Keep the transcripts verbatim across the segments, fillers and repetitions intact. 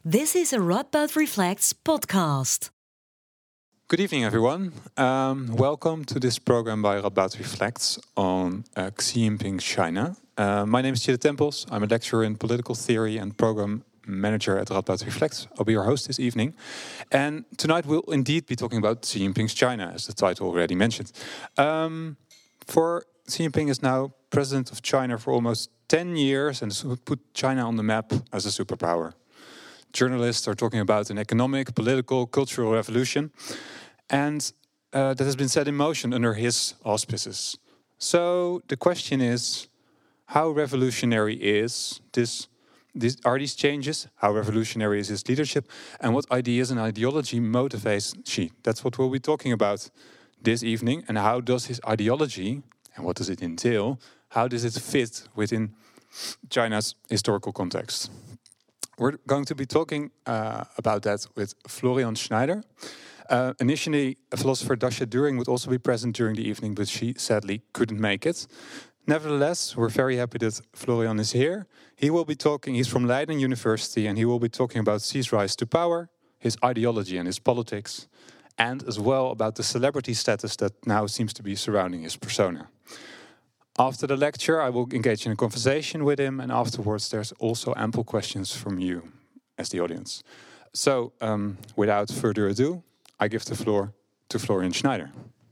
This is a Radboud Reflects podcast. Good evening, everyone. Um, welcome to this program by Radboud Reflects on uh, Xi Jinping's China. Uh, my name is Chida Tempels. I'm a lecturer in political theory and program manager at Radboud Reflects. I'll be your host this evening. And tonight we'll indeed be talking about Xi Jinping's China, as the title already mentioned. Um, for Xi Jinping is now president of China for almost ten years and has put China on the map as a superpower. Journalists are talking about an economic, political, cultural revolution, and uh, that has been set in motion under his auspices. So the question is, how revolutionary is this? This are these changes? How revolutionary is his leadership? And what ideas and ideology motivates Xi? That's what we'll be talking about this evening. And how does his ideology, and what does it entail, how does it fit within China's historical context? We're going to be talking uh, about that with Florian Schneider. Uh, initially, a philosopher Dasha Düring would also be present during the evening, but she sadly couldn't make it. Nevertheless, we're very happy that Florian is here. He will be talking, he's from Leiden University, and he will be talking about Xi's rise to power, his ideology and his politics, and as well about the celebrity status that now seems to be surrounding his persona. After the lecture, I will engage in a conversation with him, and afterwards there's also ample questions from you as the audience. So, um, without further ado, I give the floor to Florian Schneider.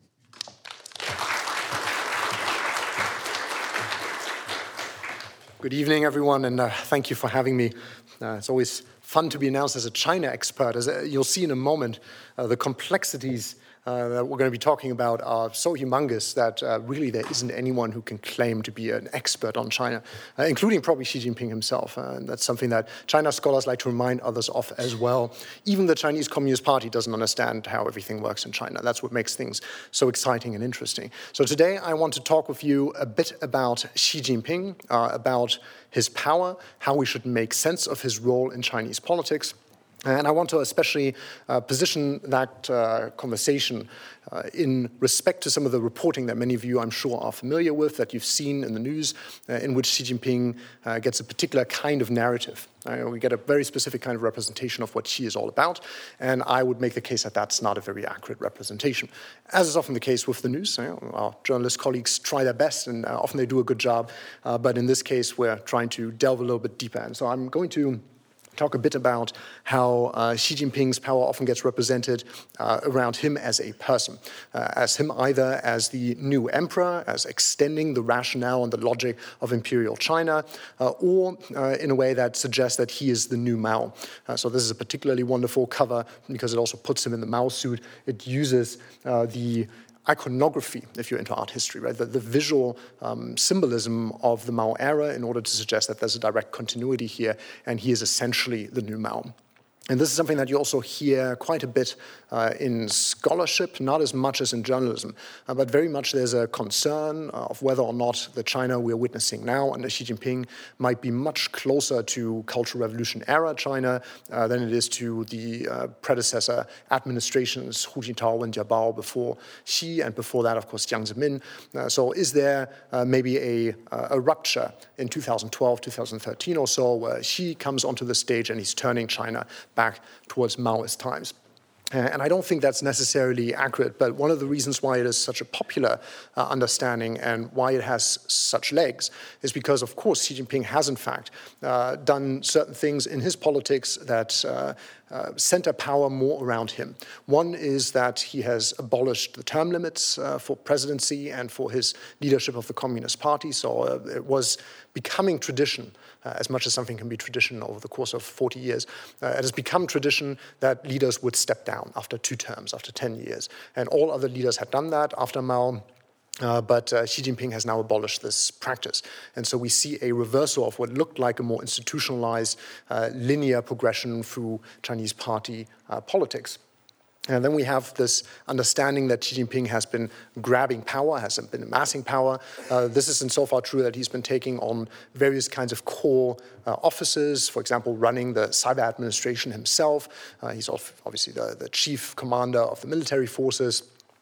Good evening, everyone, and uh, thank you for having me. Uh, it's always fun to be announced as a China expert. As uh, you'll see in a moment, uh, the complexities Uh, that we're going to be talking about are so humongous that uh, really there isn't anyone who can claim to be an expert on China, uh, including probably Xi Jinping himself. Uh, and that's something that China scholars like to remind others of as well. Even the Chinese Communist Party doesn't understand how everything works in China. That's what makes things so exciting and interesting. So today I want to talk with you a bit about Xi Jinping, uh, about his power, how we should make sense of his role in Chinese politics. And I want to especially uh, position that uh, conversation uh, in respect to some of the reporting that many of you, I'm sure, are familiar with, that you've seen in the news, uh, in which Xi Jinping uh, gets a particular kind of narrative. Uh, we get a very specific kind of representation of what Xi is all about, and I would make the case that that's not a very accurate representation. As is often the case with the news, you know, our journalist colleagues try their best, and uh, often they do a good job, uh, but in this case, we're trying to delve a little bit deeper. And so I'm going to talk a bit about how uh, Xi Jinping's power often gets represented uh, around him as a person, uh, as him either as the new emperor, as extending the rationale and the logic of imperial China, uh, or uh, in a way that suggests that he is the new Mao. Uh, so this is a particularly wonderful cover because it also puts him in the Mao suit. It uses uh, the iconography, if you're into art history, right? The, the visual um, symbolism of the Mao era in order to suggest that there's a direct continuity here, and he is essentially the new Mao. And this is something that you also hear quite a bit uh, in scholarship, not as much as in journalism, uh, but very much there's a concern uh, of whether or not the China we're witnessing now under Xi Jinping might be much closer to Cultural Revolution era China uh, than it is to the uh, predecessor administrations, Hu Jintao and Jiabao before Xi, and before that, of course, Jiang Zemin. Uh, so is there uh, maybe a, uh, a rupture in two thousand twelve, two thousand thirteen or so, where Xi comes onto the stage and he's turning China back towards Maoist times? Uh, and I don't think that's necessarily accurate, but one of the reasons why it is such a popular uh, understanding and why it has such legs is because, of course, Xi Jinping has, in fact, uh, done certain things in his politics that uh, uh, center power more around him. One is that he has abolished the term limits uh, for presidency and for his leadership of the Communist Party, so uh, it was becoming tradition. Uh, as much as something can be tradition over the course of forty years, uh, it has become tradition that leaders would step down after two terms, after ten years. And all other leaders had done that after Mao. Uh, but uh, Xi Jinping has now abolished this practice. And so we see a reversal of what looked like a more institutionalized, uh, linear progression through Chinese party uh, politics. And then we have this understanding that Xi Jinping has been grabbing power, has been amassing power. Uh, this is insofar true that he's been taking on various kinds of core uh, offices, for example, running the cyber administration himself. Uh, he's obviously the, the chief commander of the military forces.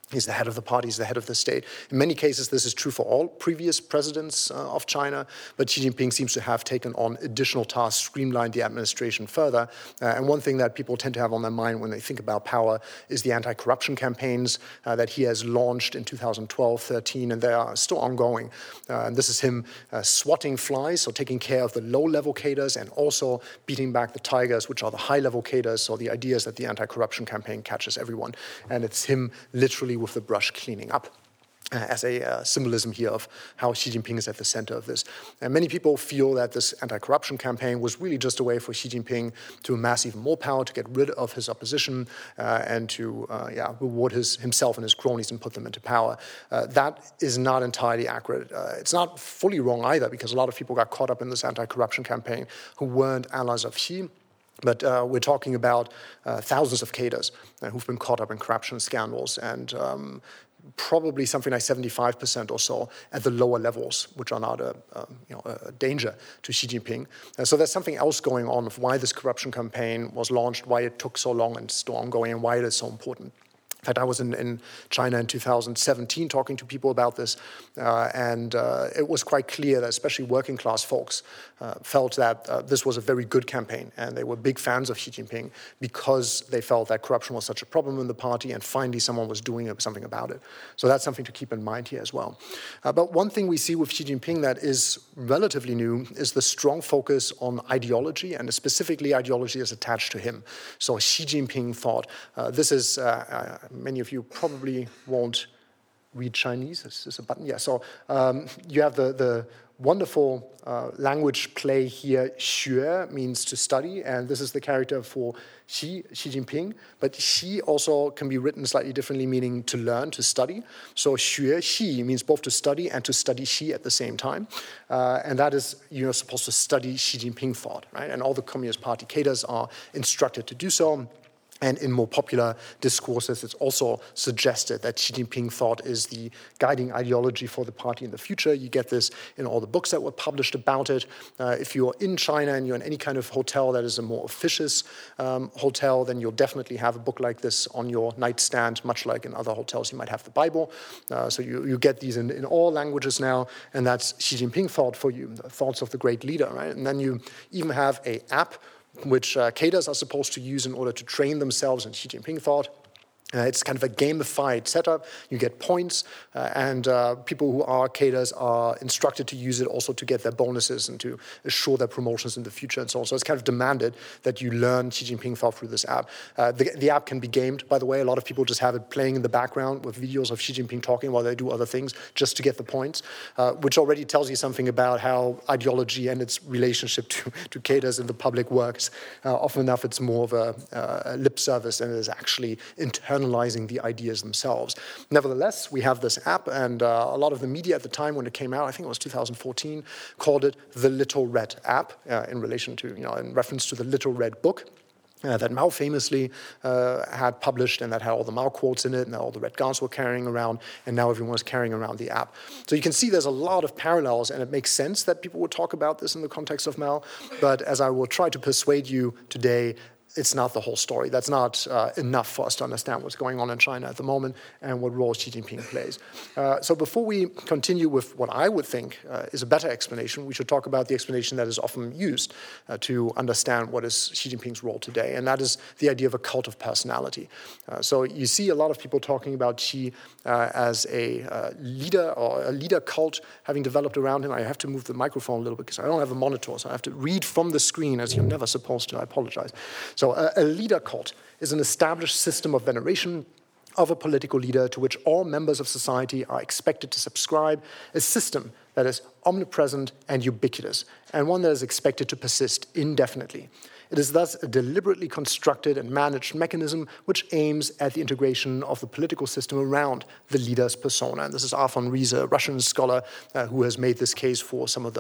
He's the head of the party, he's the head of the state. In many cases, this is true for all previous presidents uh, of China, but Xi Jinping seems to have taken on additional tasks, streamlined the administration further. Uh, and one thing that people tend to have on their mind when they think about power is the anti-corruption campaigns uh, that he has launched in two thousand twelve, thirteen, and they are still ongoing. Uh, and this is him uh, swatting flies, so taking care of the low-level cadres and also beating back the tigers, which are the high-level cadres. So the idea is that the anti-corruption campaign catches everyone. And it's him literally with the brush cleaning up. Uh, as a uh, symbolism here of how Xi Jinping is at the center of this. And many people feel that this anti-corruption campaign was really just a way for Xi Jinping to amass even more power, to get rid of his opposition, uh, and to uh, yeah, reward his, himself and his cronies and put them into power. Uh, that is not entirely accurate. Uh, it's not fully wrong either, because a lot of people got caught up in this anti-corruption campaign who weren't allies of Xi. But uh, we're talking about uh, thousands of cadres uh, who've been caught up in corruption scandals, and um, probably something like seventy-five percent or so at the lower levels, which are not a, a, you know, a danger to Xi Jinping. Uh, so there's something else going on of why this corruption campaign was launched, why it took so long and still ongoing, and why it is so important. In fact, I was in, in China in two thousand seventeen talking to people about this, uh, and uh, it was quite clear that especially working class folks uh, felt that uh, this was a very good campaign, and they were big fans of Xi Jinping because they felt that corruption was such a problem in the party, and finally someone was doing something about it. So that's something to keep in mind here as well. Uh, but one thing we see with Xi Jinping that is relatively new is the strong focus on ideology, and specifically ideology is attached to him. So Xi Jinping thought, uh, this is... Uh, uh, Many of you probably won't read Chinese. Is this a button? Yeah, so um, you have the, the wonderful uh, language play here. Xue means to study, and this is the character for Xi, Xi Jinping. But Xi also can be written slightly differently, meaning to learn, to study. So Xue Xi means both to study and to study Xi at the same time. Uh, and that is, you're supposed to study Xi Jinping thought, right? And all the Communist Party cadres are instructed to do so. And in more popular discourses, it's also suggested that Xi Jinping thought is the guiding ideology for the party in the future. You get this in all the books that were published about it. Uh, if you're in China and you're in any kind of hotel that is a more officious um, hotel, then you'll definitely have a book like this on your nightstand, much like in other hotels you might have the Bible. Uh, so you, you get these in, in all languages now, and that's Xi Jinping thought for you, the thoughts of the great leader, right? And then you even have an app which uh, cadres are supposed to use in order to train themselves in Xi Jinping thought. Uh, it's kind of a gamified setup. You get points, uh, and uh, people who are cadres are instructed to use it also to get their bonuses and to assure their promotions in the future and so on. So it's kind of demanded that you learn Xi Jinping thought through this app. Uh, the, the app can be gamed, by the way. A lot of people just have it playing in the background with videos of Xi Jinping talking while they do other things just to get the points, uh, which already tells you something about how ideology and its relationship to, to cadres in the public works. Uh, often enough, it's more of a, uh, a lip service than it is actually internal analyzing the ideas themselves. Nevertheless, we have this app, and uh, a lot of the media at the time when it came out, I think it was two thousand fourteen, called it the Little Red app uh, in relation to, you know, in reference to the Little Red book. Uh, that Mao famously uh, had published, and that had all the Mao quotes in it, and that all the Red Guards were carrying around, and now everyone is carrying around the app. So you can see there's a lot of parallels, and it makes sense that people would talk about this in the context of Mao, but as I will try to persuade you today, it's not the whole story. That's not uh, enough for us to understand what's going on in China at the moment and what role Xi Jinping plays. Uh, so before we continue with what I would think uh, is a better explanation, we should talk about the explanation that is often used uh, to understand what is Xi Jinping's role today, and that is the idea of a cult of personality. Uh, so you see a lot of people talking about Xi uh, as a uh, leader or a leader cult having developed around him. I have to move the microphone a little bit because I don't have a monitor, so I have to read from the screen as you're never supposed to. I apologize. So a, a leader cult is an established system of veneration of a political leader to which all members of society are expected to subscribe, a system that is omnipresent and ubiquitous, and one that is expected to persist indefinitely. It is thus a deliberately constructed and managed mechanism which aims at the integration of the political system around the leader's persona. And this is Arfon Riese, a Russian scholar uh, who has made this case for some of the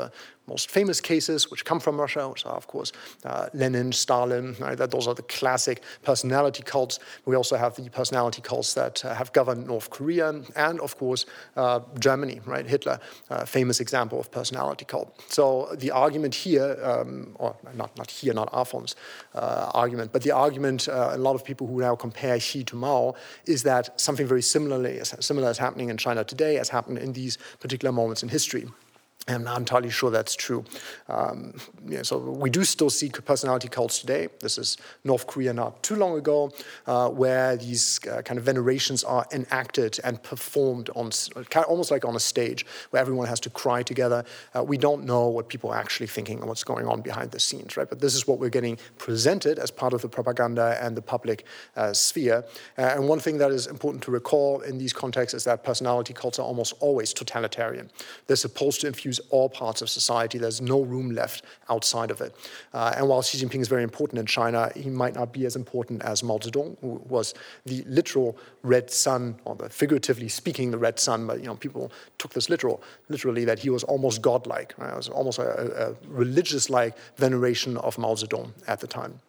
most famous cases, which come from Russia, which are, of course, uh, Lenin, Stalin, right? That those are the classic personality cults. We also have the personality cults that uh, have governed North Korea, and, of course, uh, Germany, right? Hitler, uh, famous example of personality cult. So the argument here, um, or not, not here, not Afon's uh, argument, but the argument, uh, a lot of people who now compare Xi to Mao, is that something very similarly, similar is happening in China today, as happened in these particular moments in history. I'm not entirely sure that's true. Um, yeah, so we do still see personality cults today. This is North Korea not too long ago, uh, where these uh, kind of venerations are enacted and performed on kind of almost like on a stage, where everyone has to cry together. Uh, we don't know what people are actually thinking and what's going on behind the scenes, right? But this is what we're getting presented as part of the propaganda and the public uh, sphere. Uh, and one thing that is important to recall in these contexts is that personality cults are almost always totalitarian. They're supposed to infuse all parts of society. There's no room left outside of it. Uh, and while Xi Jinping is very important in China, he might not be as important as Mao Zedong, who was the literal red sun, or the figuratively speaking, the red sun. But you know, people took this literal, literally, that he was almost godlike. Right? It was almost a, a religious-like veneration of Mao Zedong at the time.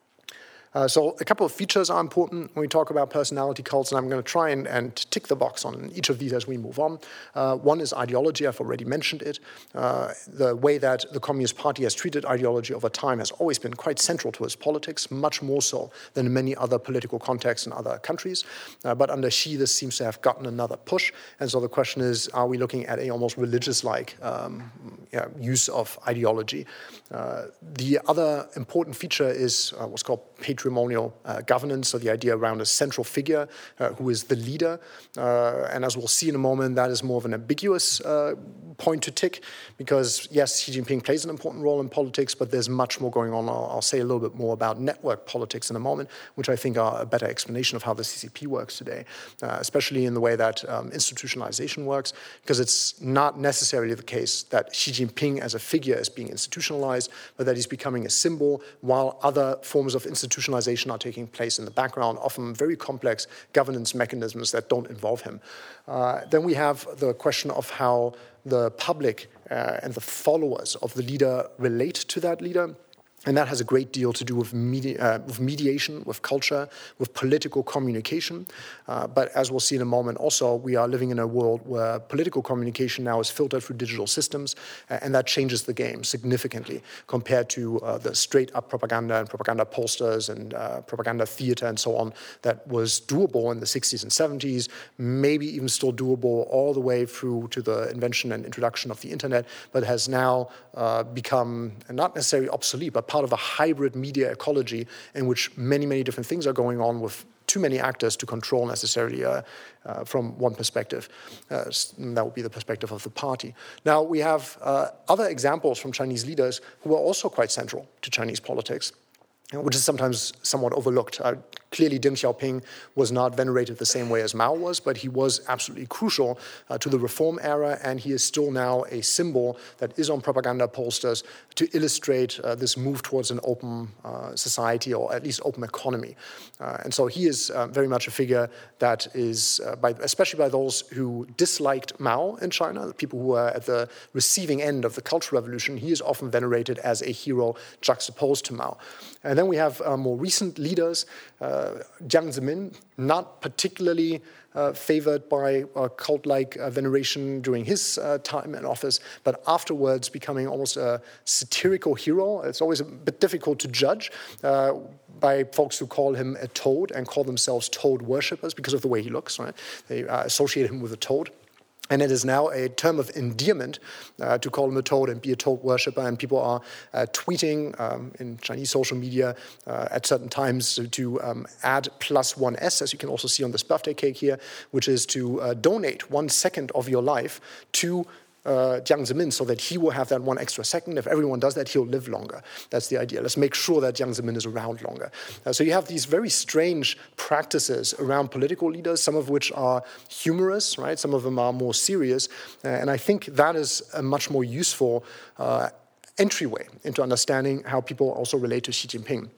Uh, so a couple of features are important when we talk about personality cults, and I'm going to try and, and tick the box on each of these as we move on. Uh, one is ideology. I've already mentioned it. Uh, the way that the Communist Party has treated ideology over time has always been quite central to its politics, much more so than in many other political contexts in other countries. Uh, but under Xi, this seems to have gotten another push. And so the question is, are we looking at a almost religious-like um, yeah, use of ideology? Uh, the other important feature is uh, what's called patrimonial uh, governance, so the idea around a central figure uh, who is the leader. Uh, and as we'll see in a moment, that is more of an ambiguous uh, point to tick, because yes, Xi Jinping plays an important role in politics, but there's much more going on. I'll, I'll say a little bit more about network politics in a moment, which I think are a better explanation of how the C C P works today, uh, especially in the way that um, institutionalization works, because it's not necessarily the case that Xi Jinping as a figure is being institutionalized, but that he's becoming a symbol, while other forms of institutionalization are taking place in the background, often very complex governance mechanisms that don't involve him. Uh, then we have the question of how the public uh, and the followers of the leader relate to that leader. And that has a great deal to do with, medi- uh, with mediation, with culture, with political communication. Uh, but as we'll see in a moment also, we are living in a world where political communication now is filtered through digital systems, uh, and that changes the game significantly compared to uh, the straight-up propaganda and propaganda posters and uh, propaganda theater and so on that was doable in the sixties and seventies, maybe even still doable all the way through to the invention and introduction of the internet, but has now uh, become not necessarily obsolete, but part of a hybrid media ecology in which many, many different things are going on with too many actors to control necessarily uh, uh, from one perspective. Uh, that would be the perspective of the party. Now, we have uh, other examples from Chinese leaders who are also quite central to Chinese politics, which is sometimes somewhat overlooked. Uh, clearly, Deng Xiaoping was not venerated the same way as Mao was, but he was absolutely crucial uh, to the reform era, and he is still now a symbol that is on propaganda posters to illustrate uh, this move towards an open uh, society, or at least open economy. Uh, and so he is uh, very much a figure that is, uh, by, especially by those who disliked Mao in China, the people who are at the receiving end of the Cultural Revolution, he is often venerated as a hero juxtaposed to Mao. And then we have uh, more recent leaders, uh, Jiang Zemin, not particularly uh, favored by a cult-like uh, veneration during his uh, time in office, but afterwards becoming almost a satirical hero. It's always a bit difficult to judge uh, by folks who call him a toad and call themselves toad worshippers because of the way he looks, right? They uh, associate him with a toad. And it is now a term of endearment uh, to call him a toad and be a toad worshipper. And people are uh, tweeting um, in Chinese social media uh, at certain times to, to um, add plus one S, as you can also see on this birthday cake here, which is to uh, donate one second of your life to Uh, Jiang Zemin, so that he will have that one extra second. If everyone does that, he'll live longer. That's the idea. Let's make sure that Jiang Zemin is around longer. Uh, so you have these very strange practices around political leaders, some of which are humorous, right? Some of them are more serious. Uh, and I think that is a much more useful uh, entryway into understanding how people also relate to Xi Jinping.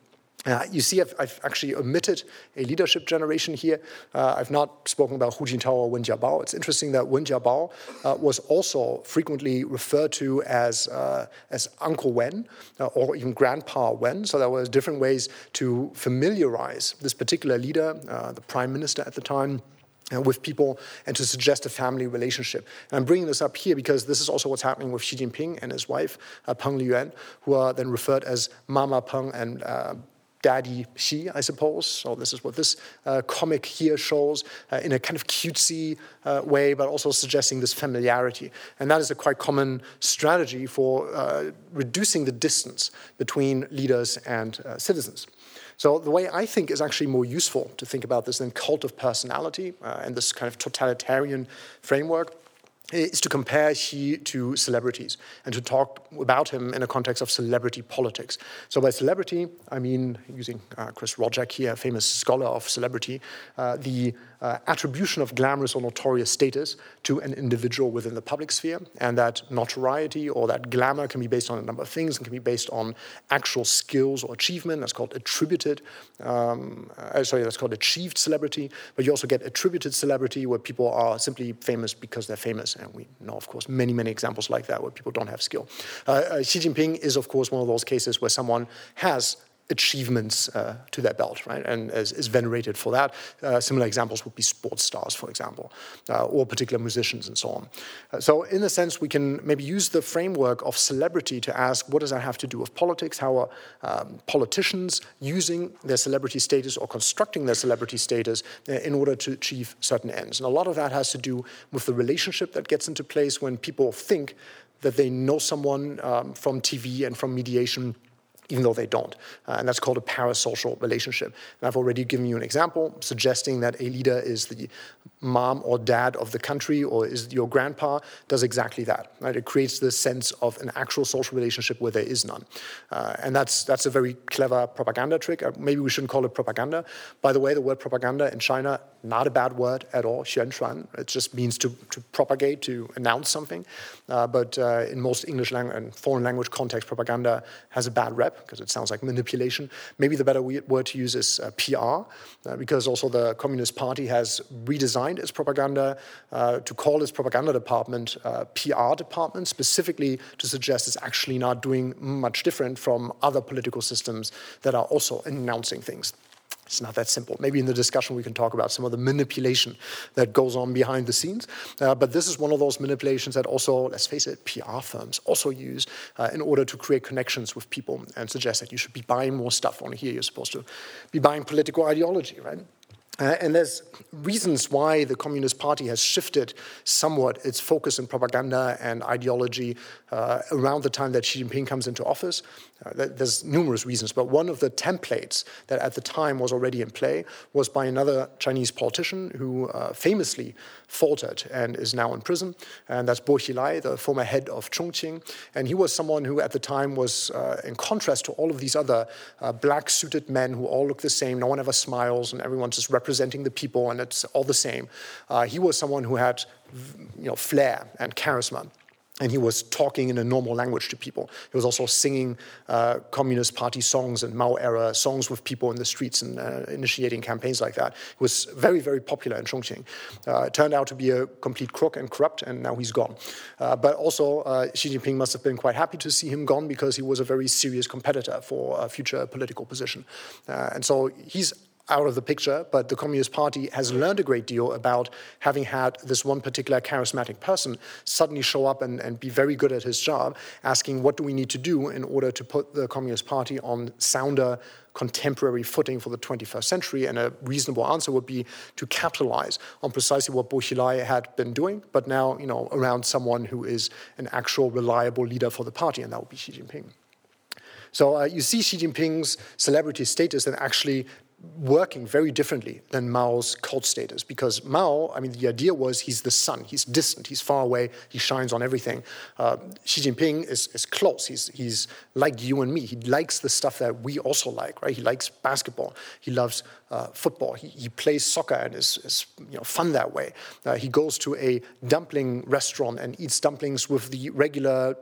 Uh, you see, I've, I've actually omitted a leadership generation here. Uh, I've not spoken about Hu Jintao or Wen Jiabao. It's interesting that Wen Jiabao uh, was also frequently referred to as uh, as Uncle Wen uh, or even Grandpa Wen. So there were different ways to familiarize this particular leader, uh, the prime minister at the time, Uh, with people, and to suggest a family relationship. And I'm bringing this up here because this is also what's happening with Xi Jinping and his wife, uh, Peng Liyuan, who are then referred as Mama Peng and uh, Daddy Xi, I suppose. So this is what this uh, comic here shows uh, in a kind of cutesy uh, way, but also suggesting this familiarity. And that is a quite common strategy for uh, reducing the distance between leaders and uh, citizens. So the way I think is actually more useful to think about this than cult of personality uh, and this kind of totalitarian framework is to compare Xi to celebrities and to talk about him in a context of celebrity politics. So by celebrity, I mean, using uh, Chris Rojek here, a famous scholar of celebrity, uh, the uh, attribution of glamorous or notorious status to an individual within the public sphere. And that notoriety or that glamour can be based on a number of things. It can be based on actual skills or achievement. That's called attributed, um, uh, sorry, that's called achieved celebrity. But you also get attributed celebrity where people are simply famous because they're famous. And we know, of course, many, many examples like that where people don't have skill. Uh, uh, Xi Jinping is, of course, one of those cases where someone has achievements uh, to their belt, right, and is, is venerated for that. Uh, similar examples would be sports stars, for example, uh, or particular musicians and so on. Uh, so in a sense, we can maybe use the framework of celebrity to ask, what does that have to do with politics? How are um, politicians using their celebrity status or constructing their celebrity status uh, in order to achieve certain ends? And a lot of that has to do with the relationship that gets into place when people think that they know someone um, from T V and from mediation, even though they don't. Uh, and that's called a parasocial relationship. And I've already given you an example suggesting that a leader is the mom or dad of the country or is your grandpa, does exactly that. Right? It creates this sense of an actual social relationship where there is none. Uh, and that's that's a very clever propaganda trick. Uh, maybe we shouldn't call it propaganda. By the way, the word propaganda in China, not a bad word at all, xuanshuan. It just means to, to propagate, to announce something. Uh, but uh, in most English language and foreign language context, propaganda has a bad rep because it sounds like manipulation. Maybe the better word to use is uh, P R, uh, because also the Communist Party has redesigned its propaganda uh, to call its propaganda department uh, P R department, specifically to suggest it's actually not doing much different from other political systems that are also announcing things. It's not that simple. Maybe in the discussion we can talk about some of the manipulation that goes on behind the scenes. Uh, but this is one of those manipulations that also, let's face it, P R firms also use uh, in order to create connections with people and suggest that you should be buying more stuff. On here, you're supposed to be buying political ideology, right? Uh, and there's reasons why the Communist Party has shifted somewhat its focus in propaganda and ideology uh, around the time that Xi Jinping comes into office. Uh, there's numerous reasons, but one of the templates that at the time was already in play was by another Chinese politician who uh, famously faltered and is now in prison, and that's Bo Xilai, the former head of Chongqing. And he was someone who at the time was, uh, in contrast to all of these other uh, black-suited men who all look the same, no one ever smiles, and everyone's just representing the people, and it's all the same. Uh, he was someone who had, you know, flair and charisma. And he was talking in a normal language to people. He was also singing uh, Communist Party songs and Mao-era songs with people in the streets and uh, initiating campaigns like that. He was very, very popular in Chongqing. Uh, it turned out to be a complete crook and corrupt, and now he's gone. Uh, but also, uh, Xi Jinping must have been quite happy to see him gone because he was a very serious competitor for a future political position. Uh, and so he's out of the picture, but the Communist Party has learned a great deal about having had this one particular charismatic person suddenly show up and, and be very good at his job, asking what do we need to do in order to put the Communist Party on sounder contemporary footing for the twenty-first century, and a reasonable answer would be to capitalize on precisely what Bo Xilai had been doing, but now, you know, around someone who is an actual reliable leader for the party, and that would be Xi Jinping. So uh, you see Xi Jinping's celebrity status and actually working very differently than Mao's cult status, because Mao, I mean, the idea was he's the sun, he's distant, he's far away, he shines on everything. Uh, Xi Jinping is, is close, he's, he's like you and me, he likes the stuff that we also like, right? He likes basketball, he loves uh, football, he, he plays soccer and is, is you know, fun that way. Uh, he goes to a dumpling restaurant and eats dumplings with the regular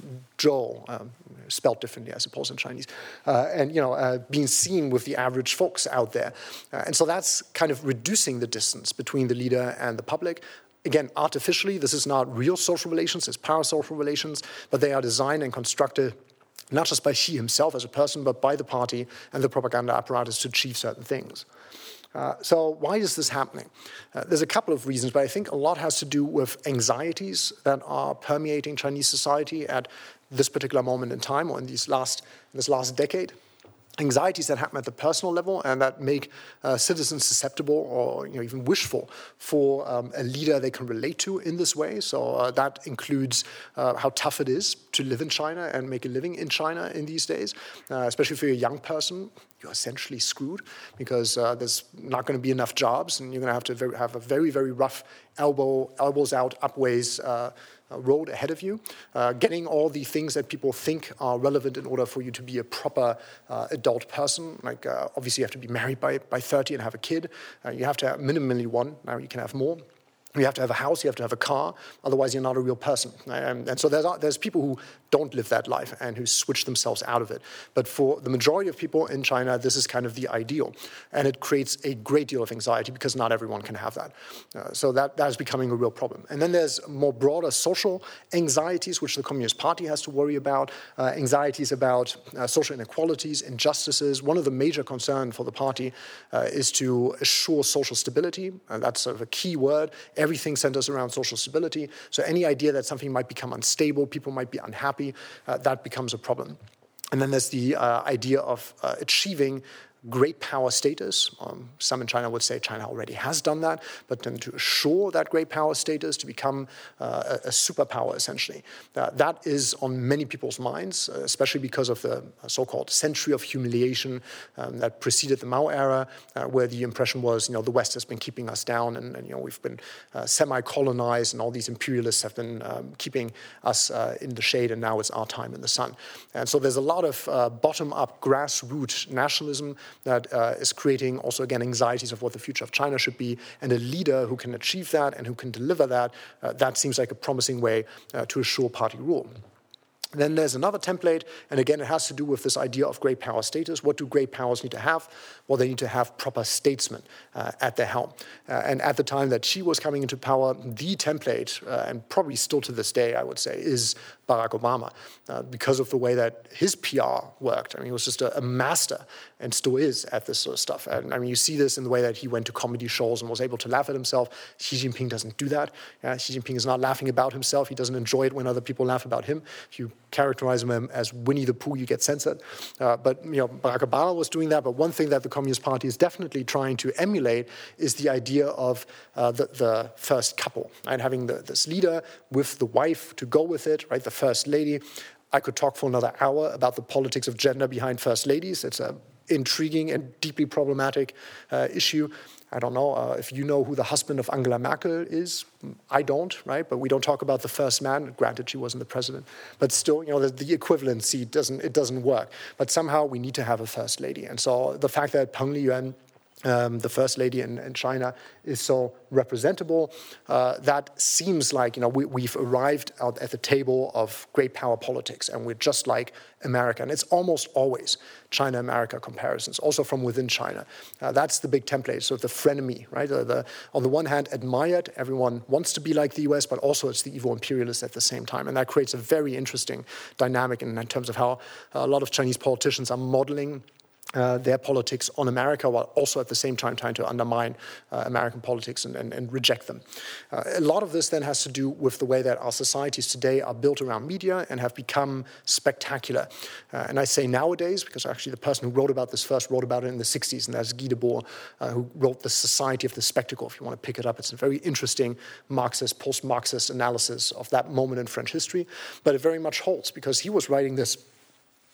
Joe, um, spelled differently, I suppose, in Chinese, uh, and you know, uh, being seen with the average folks out there, uh, and so that's kind of reducing the distance between the leader and the public. Again, artificially, this is not real social relations; it's parasocial relations, but they are designed and constructed not just by Xi himself as a person, but by the party and the propaganda apparatus to achieve certain things. Uh, so why is this happening? Uh, there's a couple of reasons, but I think a lot has to do with anxieties that are permeating Chinese society at this particular moment in time, or in these last, in this last decade. Anxieties that happen at the personal level and that make uh, citizens susceptible or you know, even wishful for um, a leader they can relate to in this way. So uh, that includes uh, how tough it is to live in China and make a living in China in these days, uh, especially for a young person. You're essentially screwed because uh, there's not going to be enough jobs, and you're going to have to very, have a very, very rough elbow, elbows out, upways uh, road ahead of you, uh, getting all the things that people think are relevant in order for you to be a proper uh, adult person. Like uh, obviously you have to be married by, by thirty and have a kid. Uh, you have to have minimally one. Now you can have more. You have to have a house, you have to have a car, otherwise you're not a real person. Um, and so there's, there's people who don't live that life and who switch themselves out of it. But for the majority of people in China, this is kind of the ideal. And it creates a great deal of anxiety because not everyone can have that. Uh, so that, that is becoming a real problem. And then there's more broader social anxieties, which the Communist Party has to worry about, uh, anxieties about uh, social inequalities, injustices. One of the major concerns for the party uh, is to assure social stability. And that's sort of a key word. Everything centers around social stability. So any idea that something might become unstable, people might be unhappy, uh, that becomes a problem. And then there's the uh, idea of uh, achieving great power status. Um, some in China would say China already has done that, but then to assure that great power status, to become uh, a, a superpower, essentially. Uh, that is on many people's minds, uh, especially because of the so-called century of humiliation um, that preceded the Mao era, uh, where the impression was, you know, the West has been keeping us down, and, and you know, we've been uh, semi-colonized, and all these imperialists have been um, keeping us uh, in the shade, and now it's our time in the sun. And so there's a lot of uh, bottom-up, grassroots nationalism that uh, is creating also, again, anxieties of what the future of China should be, and a leader who can achieve that and who can deliver that, uh, that seems like a promising way uh, to assure party rule. Then there's another template, and again, it has to do with this idea of great power status. What do great powers need to have? Well, they need to have proper statesmen uh, at their helm. Uh, and at the time that Xi was coming into power, the template, uh, and probably still to this day, I would say, is Barack Obama, uh, because of the way that his P R worked. I mean, he was just a, a master, and still is, at this sort of stuff. And I mean, you see this in the way that he went to comedy shows and was able to laugh at himself. Xi Jinping doesn't do that. Yeah, Xi Jinping is not laughing about himself. He doesn't enjoy it when other people laugh about him. If you characterize him as Winnie the Pooh, you get censored. Uh, but you know, Barack Obama was doing that. But one thing that the Communist Party is definitely trying to emulate is the idea of uh, the, the first couple, and having the, this leader with the wife to go with it, right? The first lady. I could talk for another hour about the politics of gender behind first ladies. It's a intriguing and deeply problematic uh, issue. I don't know uh, if you know who the husband of Angela Merkel is. I don't, right? But we don't talk about the first man. Granted, she wasn't the president, but still, you know, the, the equivalency doesn't it doesn't work. But somehow we need to have a first lady, and so the fact that Peng Liyuan, Um, the first lady in, in China, is so representable, uh, that seems like, you know, we, we've arrived out at the table of great power politics, and we're just like America. And it's almost always China-America comparisons, also from within China. Uh, that's the big template, so the frenemy, right? The, the, on the one hand, admired, everyone wants to be like the U S, but also it's the evil imperialists at the same time. And that creates a very interesting dynamic in, in terms of how a lot of Chinese politicians are modeling Uh, their politics on America, while also at the same time trying to undermine uh, American politics and, and, and reject them. Uh, a lot of this then has to do with the way that our societies today are built around media and have become spectacular. Uh, and I say nowadays, because actually the person who wrote about this first wrote about it in the sixties, and that's Guy Debord, uh, who wrote The Society of the Spectacle. If you want to pick it up, it's a very interesting Marxist, post-Marxist analysis of that moment in French history. But it very much holds, because he was writing this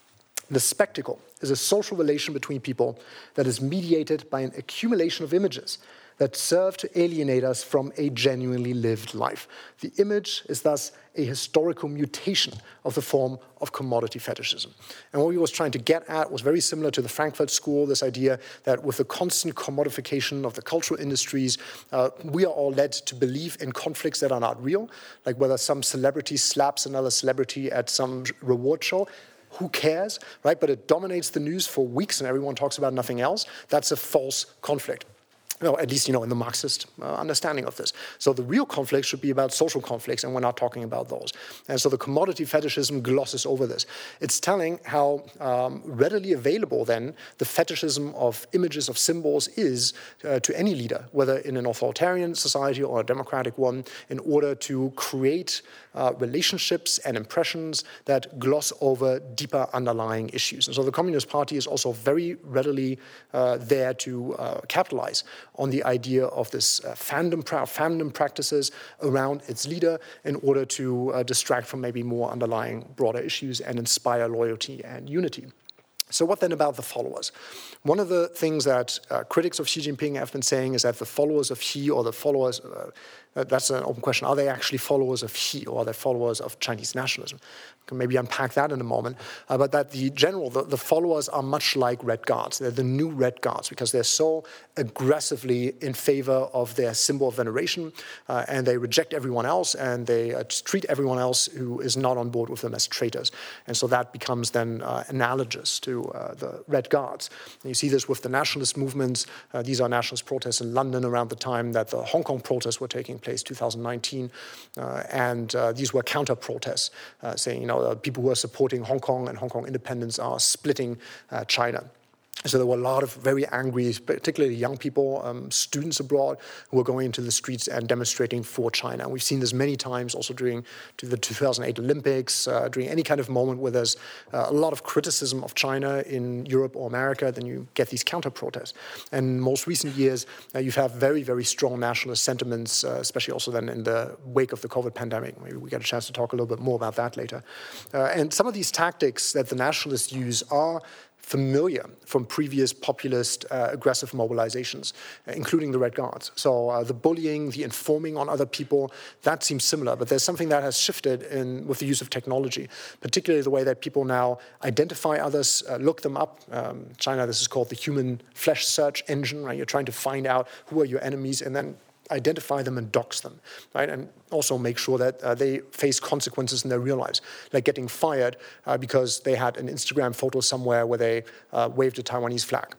The spectacle is a social relation between people that is mediated by an accumulation of images that serve to alienate us from a genuinely lived life. The image is thus a historical mutation of the form of commodity fetishism. And what he was trying to get at was very similar to the Frankfurt School, this idea that with the constant commodification of the cultural industries, uh, we are all led to believe in conflicts that are not real, like whether some celebrity slaps another celebrity at some reward show. Who cares, right? But it dominates the news for weeks and everyone talks about nothing else. That's a false conflict. No, at least, you know, in the Marxist uh, understanding of this. So the real conflict should be about social conflicts, and we're not talking about those. And so the commodity fetishism glosses over this. It's telling how um, readily available, then, the fetishism of images, of symbols is uh, to any leader, whether in an authoritarian society or a democratic one, in order to create uh, relationships and impressions that gloss over deeper underlying issues. And so the Communist Party is also very readily uh, there to uh, capitalize on the idea of this uh, fandom, pra- fandom practices around its leader in order to uh, distract from maybe more underlying broader issues and inspire loyalty and unity. So what then about the followers? One of the things that uh, critics of Xi Jinping have been saying is that the followers of Xi or the followers, uh, that's an open question, are they actually followers of Xi or are they followers of Chinese nationalism? We can maybe unpack that in a moment. Uh, but that the general, the, the followers are much like Red Guards. They're the new Red Guards because they're so aggressively in favor of their symbol of veneration uh, and they reject everyone else and they uh, treat everyone else who is not on board with them as traitors. And so that becomes then uh, analogous to uh, the Red Guards. And you see this with the nationalist movements. Uh, these are nationalist protests in London around the time that the Hong Kong protests were taking place, two thousand nineteen. Uh, and uh, these were counter-protests, uh, saying, you know, uh, people who are supporting Hong Kong and Hong Kong independence are splitting uh, China. So there were a lot of very angry, particularly young people, um, students abroad, who were going into the streets and demonstrating for China. And we've seen this many times also during the two thousand eight Olympics, uh, during any kind of moment where there's uh, a lot of criticism of China in Europe or America, then you get these counter-protests. And in most recent years, uh, you've had very, very strong nationalist sentiments, uh, especially also then in the wake of the COVID pandemic. Maybe we get a chance to talk a little bit more about that later. Uh, and some of these tactics that the nationalists use are familiar from previous populist uh, aggressive mobilizations, uh, including the Red Guards. So uh, the bullying, the informing on other people, that seems similar, but there's something that has shifted in with the use of technology, particularly the way that people now identify others, uh, look them up. Um, China, this is called the human flesh search engine, right? You're trying to find out who are your enemies and then identify them and dox them, right? And also make sure that uh, they face consequences in their real lives, like getting fired uh, because they had an Instagram photo somewhere where they uh, waved a Taiwanese flag.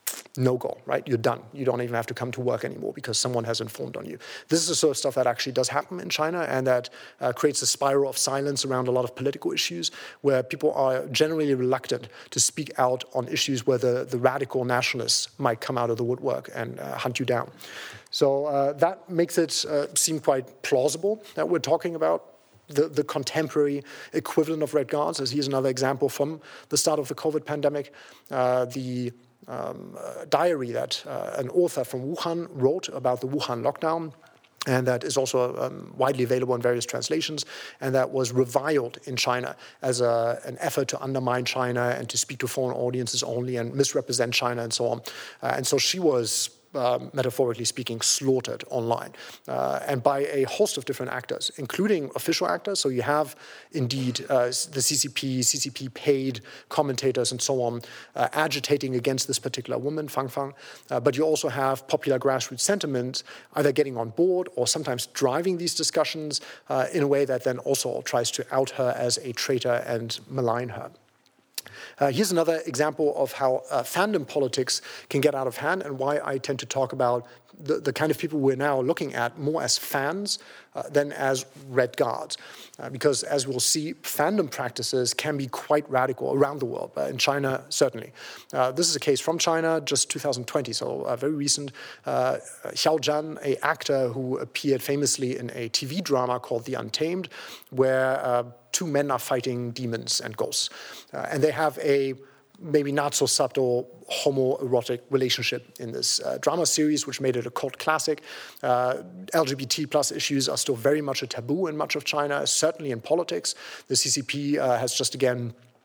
No go, right? You're done. You don't even have to come to work anymore because someone has informed on you. This is the sort of stuff that actually does happen in China and that uh, creates a spiral of silence around a lot of political issues where people are generally reluctant to speak out on issues where the, the radical nationalists might come out of the woodwork and uh, hunt you down. So uh, that makes it uh, seem quite plausible that we're talking about The, the contemporary equivalent of Red Guards, as here's another example from the start of the COVID pandemic. Uh, the um, uh, diary that uh, an author from Wuhan wrote about the Wuhan lockdown, and that is also um, widely available in various translations, and that was reviled in China as a, an effort to undermine China and to speak to foreign audiences only and misrepresent China and so on. Uh, and so she was Uh, metaphorically speaking, slaughtered online, uh, and by a host of different actors, including official actors. So you have indeed uh, the C C P, C C P paid commentators and so on uh, agitating against this particular woman, Fang Fang. Uh, but you also have popular grassroots sentiment either getting on board or sometimes driving these discussions uh, in a way that then also tries to out her as a traitor and malign her. Uh, here's another example of how uh, fandom politics can get out of hand and why I tend to talk about the, the kind of people we're now looking at more as fans uh, than as Red Guards. Uh, because as we'll see, fandom practices can be quite radical around the world, but in China, certainly. Uh, this is a case from China, just two thousand twenty, so uh, very recent. Uh, Xiao Zhan, an actor who appeared famously in a T V drama called The Untamed, where uh, two men are fighting demons and ghosts. Uh, and they have a maybe not so subtle homoerotic relationship in this uh, drama series, which made it a cult classic. Uh, L G B T plus issues are still very much a taboo in much of China, certainly in politics. The C C P uh, has just again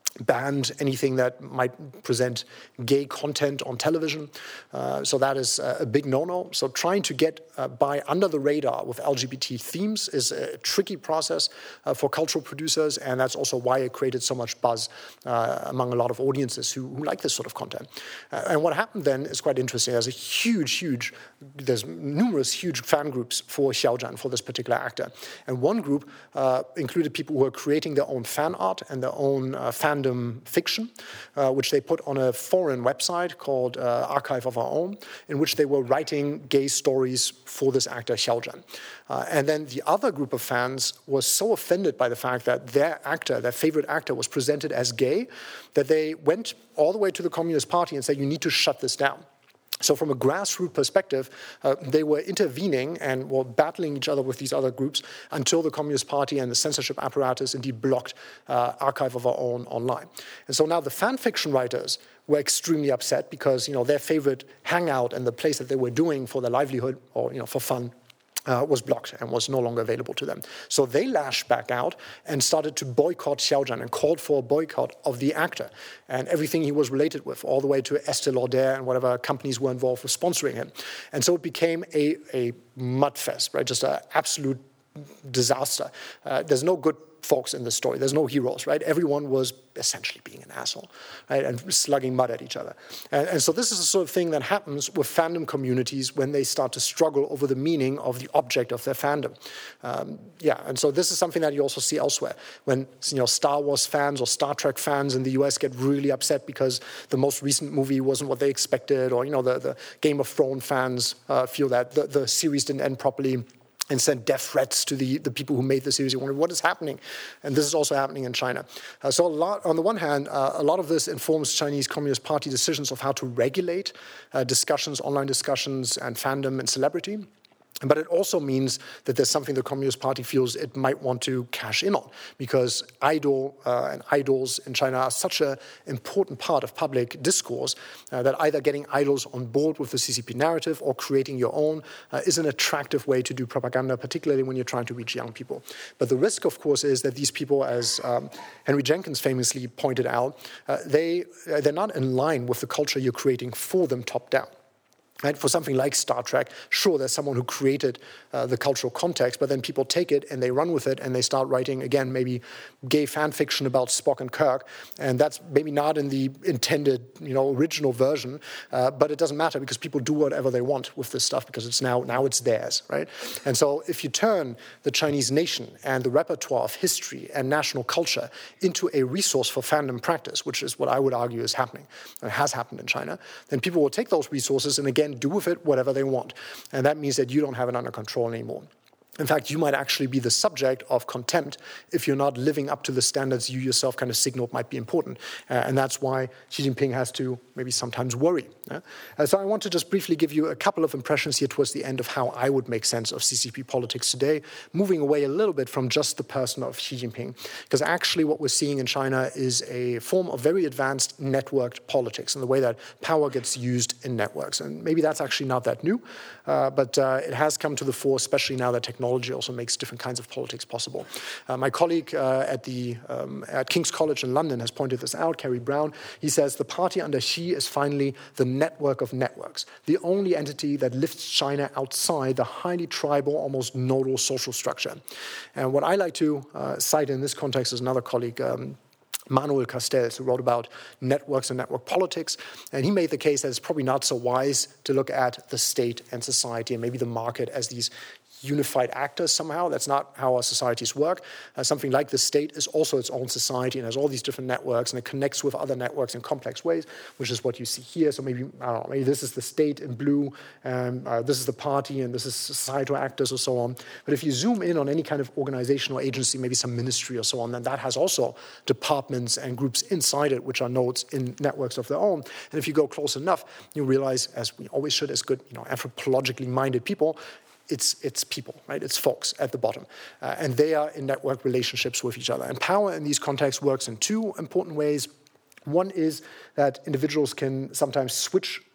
banned anything that might present gay content on television. Uh, so that is a big no-no. So trying to get uh, by under the radar with L G B T themes is a tricky process uh, for cultural producers, and that's also why it created so much buzz uh, among a lot of audiences who, who like this sort of content. Uh, and what happened then is quite interesting. There's a huge, huge, there's numerous huge fan groups for Xiao Zhan, for this particular actor. And one group uh, included people who are creating their own fan art and their own uh, fan fiction, uh, which they put on a foreign website called uh, Archive of Our Own, in which they were writing gay stories for this actor, Xiao Zhan. Uh, and then the other group of fans was so offended by the fact that their actor, their favorite actor, was presented as gay, that they went all the way to the Communist Party and said, you need to shut this down. So from a grassroots perspective, uh, they were intervening and were battling each other with these other groups until the Communist Party and the censorship apparatus indeed blocked uh, Archive of Our Own online. And so now the fan fiction writers were extremely upset because, you know, their favorite hangout and the place that they were doing for their livelihood or, you know, for fun Uh, was blocked and was no longer available to them. So they lashed back out and started to boycott Xiao Zhan and called for a boycott of the actor and everything he was related with, all the way to Estée Lauder and whatever companies were involved with sponsoring him. And so it became a, a mudfest, right? Just an absolute disaster. Uh, there's no good folks in the story. There's no heroes, right? Everyone was essentially being an asshole, right? And slugging mud at each other. And, and so this is the sort of thing that happens with fandom communities when they start to struggle over the meaning of the object of their fandom. Um, yeah, and so this is something that you also see elsewhere. When, you know, Star Wars fans or Star Trek fans in the U S get really upset because the most recent movie wasn't what they expected, or, you know, the, the Game of Thrones fans uh, feel that the, the series didn't end properly, and sent death threats to the, the people who made the series. You wonder what is happening, and this is also happening in China. Uh, so, a lot, on the one hand, uh, a lot of this informs Chinese Communist Party decisions of how to regulate uh, discussions, online discussions, and fandom and celebrity. But it also means that there's something the Communist Party feels it might want to cash in on, because idol uh, and idols in China are such an important part of public discourse uh, that either getting idols on board with the C C P narrative or creating your own uh, is an attractive way to do propaganda, particularly when you're trying to reach young people. But the risk, of course, is that these people, as um, Henry Jenkins famously pointed out, uh, they, uh, they're not in line with the culture you're creating for them top down. Right? For something like Star Trek, sure, there's someone who created uh, the cultural context, but then people take it and they run with it and they start writing, again, maybe gay fan fiction about Spock and Kirk, and that's maybe not in the intended, you know, original version, uh, but it doesn't matter because people do whatever they want with this stuff because it's now, now it's theirs, right? And so if you turn the Chinese nation and the repertoire of history and national culture into a resource for fandom practice, which is what I would argue is happening, and has happened in China, then people will take those resources and, again, do with it whatever they want. And that means that you don't have it under control anymore. In fact, you might actually be the subject of contempt if you're not living up to the standards you yourself kind of signaled might be important. Uh, and that's why Xi Jinping has to maybe sometimes worry. Yeah? Uh, so I want to just briefly give you a couple of impressions here towards the end of how I would make sense of C C P politics today, moving away a little bit from just the person of Xi Jinping. Because actually what we're seeing in China is a form of very advanced networked politics and the way that power gets used in networks. And maybe that's actually not that new, uh, but uh, it has come to the fore, especially now that technology Technology also makes different kinds of politics possible. Uh, my colleague uh, at the um, at King's College in London has pointed this out, Kerry Brown. He says the party under Xi is finally the network of networks, the only entity that lifts China outside the highly tribal, almost nodal social structure. And what I like to uh, cite in this context is another colleague, um, Manuel Castells, who wrote about networks and network politics, and he made the case that it's probably not so wise to look at the state and society and maybe the market as these unified actors somehow. That's not how our societies work. Uh, something like the state is also its own society and has all these different networks, and it connects with other networks in complex ways, which is what you see here. So maybe, I don't know, maybe this is the state in blue, and uh, this is the party, and this is societal actors or so on. But if you zoom in on any kind of organization or agency, maybe some ministry or so on, then that has also departments and groups inside it, which are nodes in networks of their own. And if you go close enough, you realize, as we always should as good, you know, anthropologically minded people, It's it's people, right? It's folks at the bottom. Uh, and they are in network relationships with each other. And power in these contexts works in two important ways. One is that individuals can sometimes switch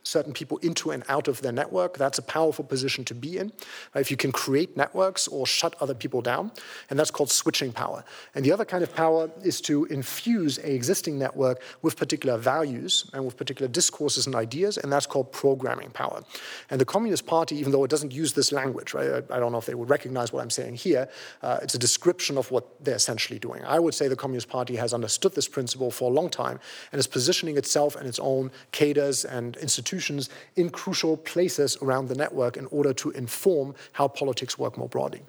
certain people into and out of their network. That's a powerful position to be in. If you can create networks or shut other people down, and that's called switching power. And the other kind of power is to infuse an existing network with particular values and with particular discourses and ideas, and that's called programming power. And the Communist Party, even though it doesn't use this language, right? I don't know if they would recognize what I'm saying here, uh, it's a description of what they're essentially doing. I would say the Communist Party has understood this principle for a long time and is positioning itself and its own cadres and institutions in crucial places around the network in order to inform how politics work more broadly.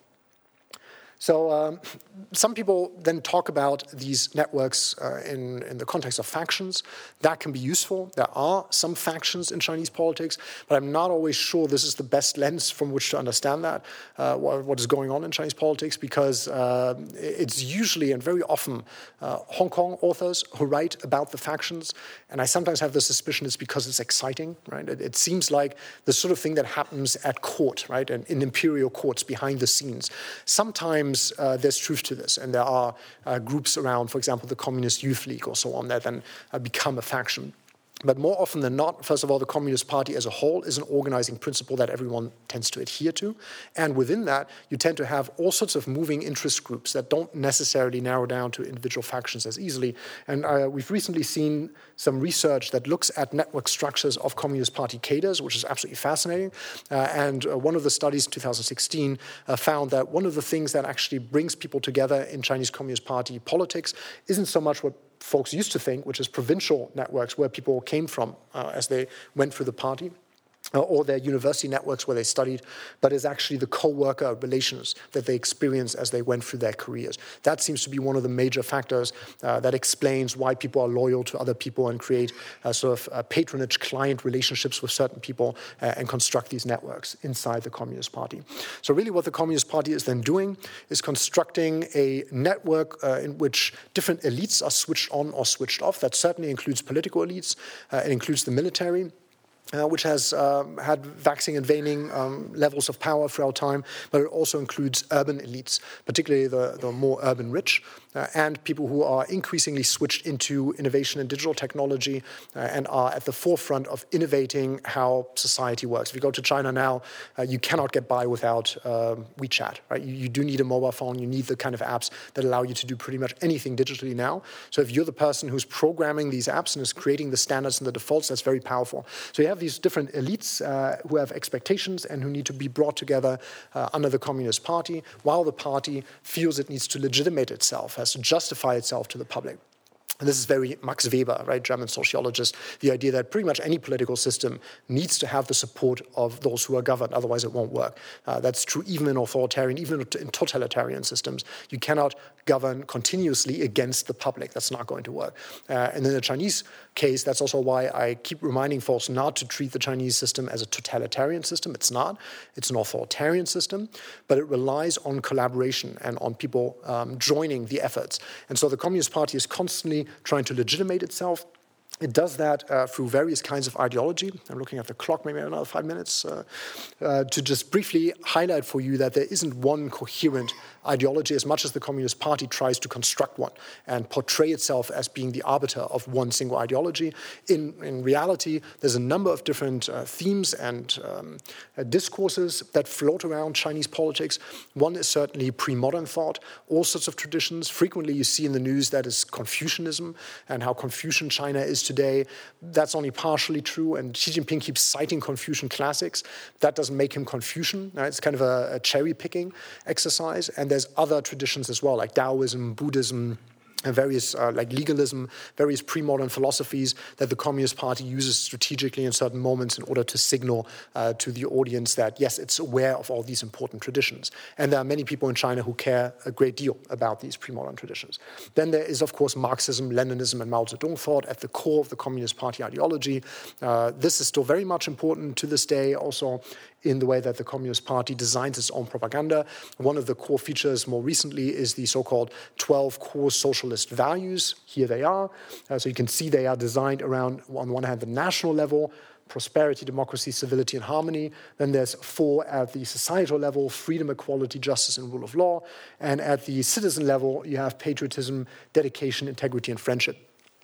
So um, some people then talk about these networks uh, in, in the context of factions. That can be useful. There are some factions in Chinese politics, but I'm not always sure this is the best lens from which to understand that, uh, what, what is going on in Chinese politics, because uh, it's usually and very often uh, Hong Kong authors who write about the factions, and I sometimes have the suspicion it's because it's exciting, right? It, it seems like the sort of thing that happens at court, right, and in imperial courts behind the scenes. Sometimes Uh, there's truth to this, and there are uh, groups around, for example, the Communist Youth League or so on, that then uh, become a faction. But more often than not, first of all, the Communist Party as a whole is an organizing principle that everyone tends to adhere to. And within that, you tend to have all sorts of moving interest groups that don't necessarily narrow down to individual factions as easily. And uh, we've recently seen some research that looks at network structures of Communist Party cadres, which is absolutely fascinating. Uh, and uh, one of the studies in two thousand sixteen uh, found that one of the things that actually brings people together in Chinese Communist Party politics isn't so much what folks used to think, which is provincial networks where people came from uh, as they went through the party, uh, or their university networks where they studied, but is actually the co-worker relations that they experienced as they went through their careers. That seems to be one of the major factors uh, that explains why people are loyal to other people and create uh, sort of uh, patronage client relationships with certain people uh, and construct these networks inside the Communist Party. So really what the Communist Party is then doing is constructing a network uh, in which different elites are switched on or switched off. That certainly includes political elites. Uh, it includes the military. Uh, which has um, had waxing and waning um, levels of power throughout time, but it also includes urban elites, particularly the, the more urban rich, uh, and people who are increasingly switched into innovation and digital technology uh, and are at the forefront of innovating how society works. If you go to China now, uh, you cannot get by without uh, WeChat, right? You, you do need a mobile phone. You need the kind of apps that allow you to do pretty much anything digitally now. So if you're the person who's programming these apps and is creating the standards and the defaults, that's very powerful. So you have these different elites uh, who have expectations and who need to be brought together uh, under the Communist Party, while the party feels it needs to legitimate itself, has to justify itself to the public. And this is very Max Weber, right, German sociologist, the idea that pretty much any political system needs to have the support of those who are governed, otherwise it won't work. Uh, that's true even in authoritarian, even in totalitarian systems. You cannot govern continuously against the public. That's not going to work. Uh, and in the Chinese case, that's also why I keep reminding folks not to treat the Chinese system as a totalitarian system. It's not. It's an authoritarian system, but it relies on collaboration and on people um, joining the efforts. And so the Communist Party is constantly trying to legitimate itself. It does that uh, through various kinds of ideology. I'm looking at the clock, maybe another five minutes, uh, uh, to just briefly highlight for you that there isn't one coherent ideology, as much as the Communist Party tries to construct one and portray itself as being the arbiter of one single ideology. In, in reality, there's a number of different uh, themes and um, uh, discourses that float around Chinese politics. One is certainly pre-modern thought, all sorts of traditions. Frequently you see in the news that is Confucianism and how Confucian China is today. That's only partially true, and Xi Jinping keeps citing Confucian classics. That doesn't make him Confucian. Right? It's kind of a, a cherry-picking exercise, and there's other traditions as well, like Taoism, Buddhism, and various, uh, like legalism, various pre-modern philosophies that the Communist Party uses strategically in certain moments in order to signal uh, to the audience that, yes, it's aware of all these important traditions. And there are many people in China who care a great deal about these pre-modern traditions. Then there is, of course, Marxism, Leninism, and Mao Zedong thought at the core of the Communist Party ideology. Uh, this is still very much important to this day, also in the way that the Communist Party designs its own propaganda. One of the core features more recently is the so-called twelve core socialist values. Here they are. Uh, so you can see they are designed around, on one hand, the national level, prosperity, democracy, civility, and harmony. Then there's four at the societal level: freedom, equality, justice, and rule of law. And at the citizen level, you have patriotism, dedication, integrity, and friendship.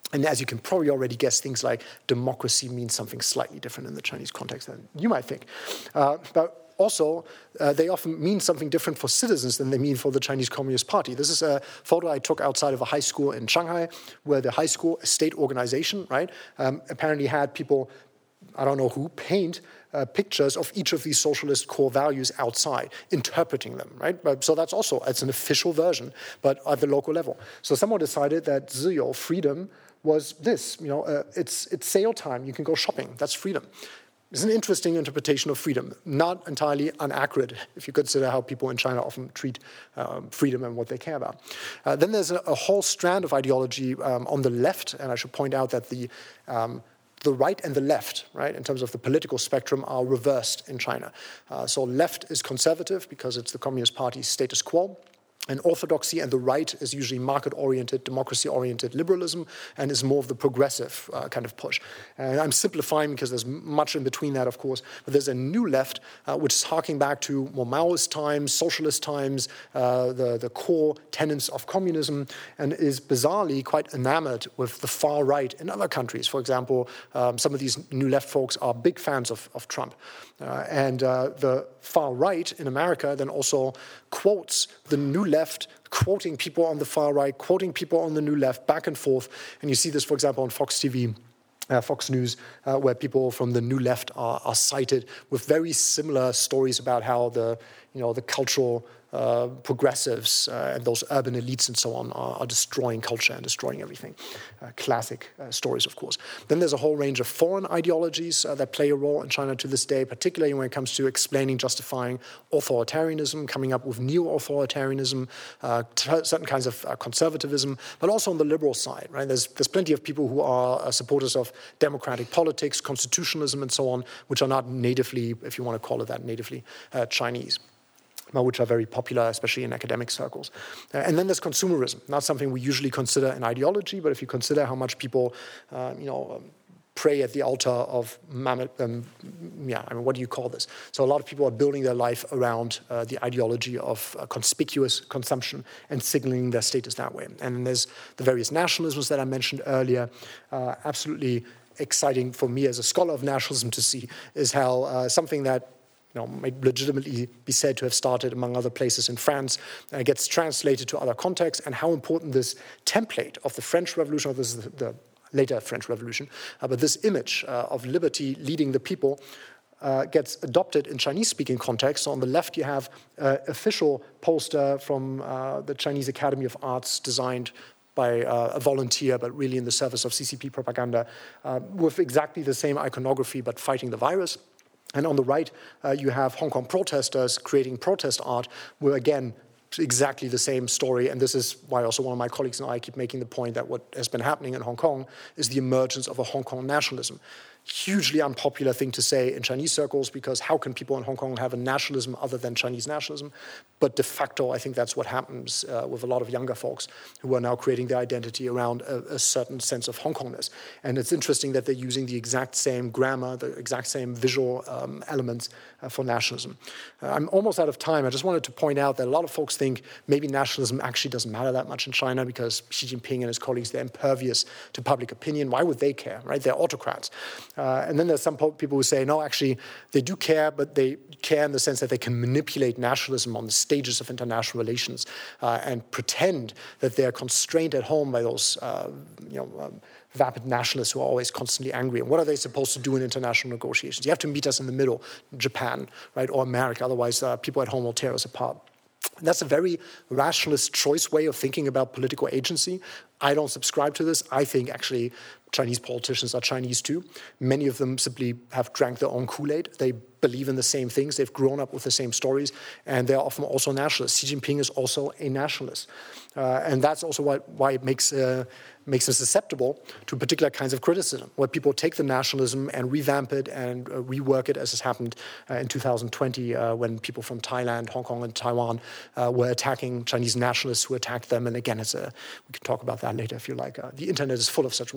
And as you can probably already guess, things like democracy means something slightly different in the Chinese context than you might think. Uh, but Also, uh, they often mean something different for citizens than they mean for the Chinese Communist Party. This is a photo I took outside of a high school in Shanghai, where the high school, a state organization, right, um, apparently had people, I don't know who, paint uh, pictures of each of these socialist core values outside, interpreting them, right? But, so that's also, it's an official version, but at the local level. So someone decided that 自由, freedom, was this, you know, uh, it's, it's sale time, you can go shopping, that's freedom. It's an interesting interpretation of freedom, not entirely inaccurate if you consider how people in China often treat um, freedom and what they care about. Uh, then there's a, a whole strand of ideology um, on the left, and I should point out that the um, the right and the left, right, in terms of the political spectrum, are reversed in China. Uh, so left is conservative because it's the Communist Party's status quo. And orthodoxy and the right is usually market-oriented, democracy-oriented liberalism, and is more of the progressive uh, kind of push. And I'm simplifying because there's much in between that, of course. But there's a new left, uh, which is harking back to more Maoist times, socialist times, uh, the, the core tenets of communism, and is bizarrely quite enamored with the far right in other countries. For example, um, some of these new left folks are big fans of, of Trump. Uh, and uh, the far right in America then also quotes the new left, quoting people on the far right, quoting people on the new left, back and forth. And you see this, for example, on Fox T V, uh, Fox News, uh, where people from the new left are, are cited with very similar stories about how the, you know, the cultural Uh, progressives uh, and those urban elites and so on are, are destroying culture and destroying everything. Uh, classic uh, stories, of course. Then there's a whole range of foreign ideologies uh, that play a role in China to this day, particularly when it comes to explaining, justifying authoritarianism, coming up with neo-authoritarianism, uh, t- certain kinds of uh, conservatism, but also on the liberal side, right? There's, there's plenty of people who are uh, supporters of democratic politics, constitutionalism, and so on, which are not natively, if you want to call it that, natively uh, Chinese, which are very popular, especially in academic circles. Uh, and then there's consumerism, not something we usually consider an ideology, but if you consider how much people, uh, you know, um, pray at the altar of, um, yeah, I mean, what do you call this? So a lot of people are building their life around uh, the ideology of uh, conspicuous consumption and signaling their status that way. And then there's the various nationalisms that I mentioned earlier, uh, absolutely exciting for me as a scholar of nationalism to see is how uh, something that You know, might legitimately be said to have started among other places in France, uh, gets translated to other contexts, and how important this template of the French Revolution, or this is the, the later French Revolution, uh, but this image uh, of liberty leading the people uh, gets adopted in Chinese-speaking contexts. So on the left, you have an uh, official poster from uh, the Chinese Academy of Arts designed by uh, a volunteer, but really in the service of C C P propaganda, uh, with exactly the same iconography, but fighting the virus. And on the right, uh, you have Hong Kong protesters creating protest art, where again, exactly the same story. And this is why also one of my colleagues and I keep making the point that what has been happening in Hong Kong is the emergence of a Hong Kong nationalism. Hugely unpopular thing to say in Chinese circles, because how can people in Hong Kong have a nationalism other than Chinese nationalism? But de facto, I think that's what happens uh, with a lot of younger folks who are now creating their identity around a, a certain sense of Hong Kongness. And it's interesting that they're using the exact same grammar, the exact same visual um, elements uh, for nationalism. Uh, I'm almost out of time. I just wanted to point out that a lot of folks think maybe nationalism actually doesn't matter that much in China because Xi Jinping and his colleagues, they're impervious to public opinion. Why would they care, right? They're autocrats. Uh, and then there's some people who say, no, actually, they do care, but they care in the sense that they can manipulate nationalism on the stages of international relations uh, and pretend that they're constrained at home by those, uh, you know, um, vapid nationalists who are always constantly angry. And what are they supposed to do in international negotiations? You have to meet us in the middle, Japan, right, or America. Otherwise, uh, people at home will tear us apart. And that's a very rationalist choice way of thinking about political agency. I don't subscribe to this. I think actually Chinese politicians are Chinese too. Many of them simply have drank their own Kool-Aid. They believe in the same things. They've grown up with the same stories, and they're often also nationalists. Xi Jinping is also a nationalist. Uh, and that's also why, why it makes, uh, makes them susceptible to particular kinds of criticism, where people take the nationalism and revamp it and uh, rework it, as has happened uh, in two thousand twenty uh, when people from Thailand, Hong Kong, and Taiwan uh, were attacking Chinese nationalists who attacked them. And again, it's a, we can talk about that later if you like. Uh, the internet is full of such wonderful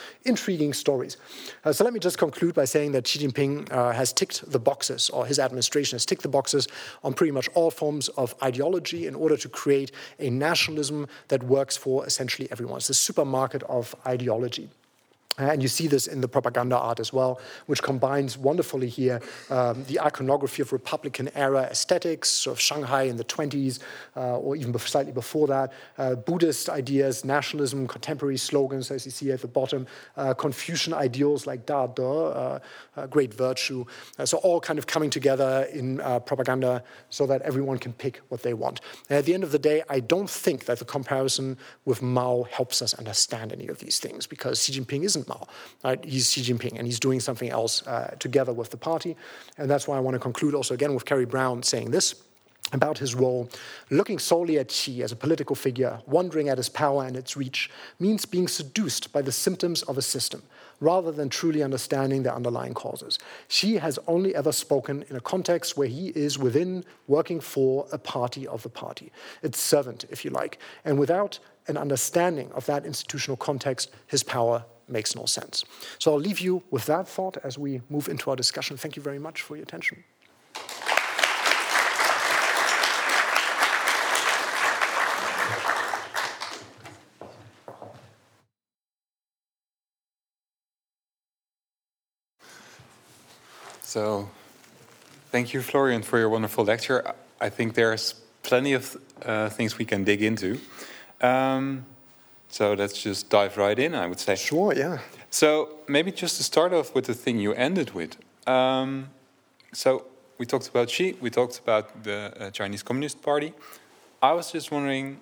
intriguing stories. Uh, so let me just conclude by saying that Xi Jinping uh, has ticked the boxes, or his administration has ticked the boxes on pretty much all forms of ideology in order to create a nationalism that works for essentially everyone. It's the supermarket of ideology. And you see this in the propaganda art as well, which combines wonderfully here um, the iconography of Republican-era aesthetics, sort of Shanghai in the twenties, uh, or even slightly before that, uh, Buddhist ideas, nationalism, contemporary slogans, as you see at the bottom, uh, Confucian ideals like Da De, uh, uh, great virtue. Uh, so all kind of coming together in uh, propaganda so that everyone can pick what they want. And at the end of the day, I don't think that the comparison with Mao helps us understand any of these things, because Xi Jinping isn't Mao, right? He's Xi Jinping, and he's doing something else uh, together with the party. And that's why I want to conclude also again with Kerry Brown saying this about his role. Looking solely at Xi as a political figure, wondering at his power and its reach, means being seduced by the symptoms of a system, rather than truly understanding their underlying causes. Xi has only ever spoken in a context where he is within, working for a party of the party, its servant, if you like. And without an understanding of that institutional context, his power makes no sense. So I'll leave you with that thought as we move into our discussion. Thank you very much for your attention. So, thank you, Florian, for your wonderful lecture. I think there's plenty of uh, things we can dig into. Um, So let's just dive right in, I would say. Sure, yeah. So maybe just to start off with the thing you ended with. Um, so we talked about Xi, we talked about the uh, Chinese Communist Party. I was just wondering,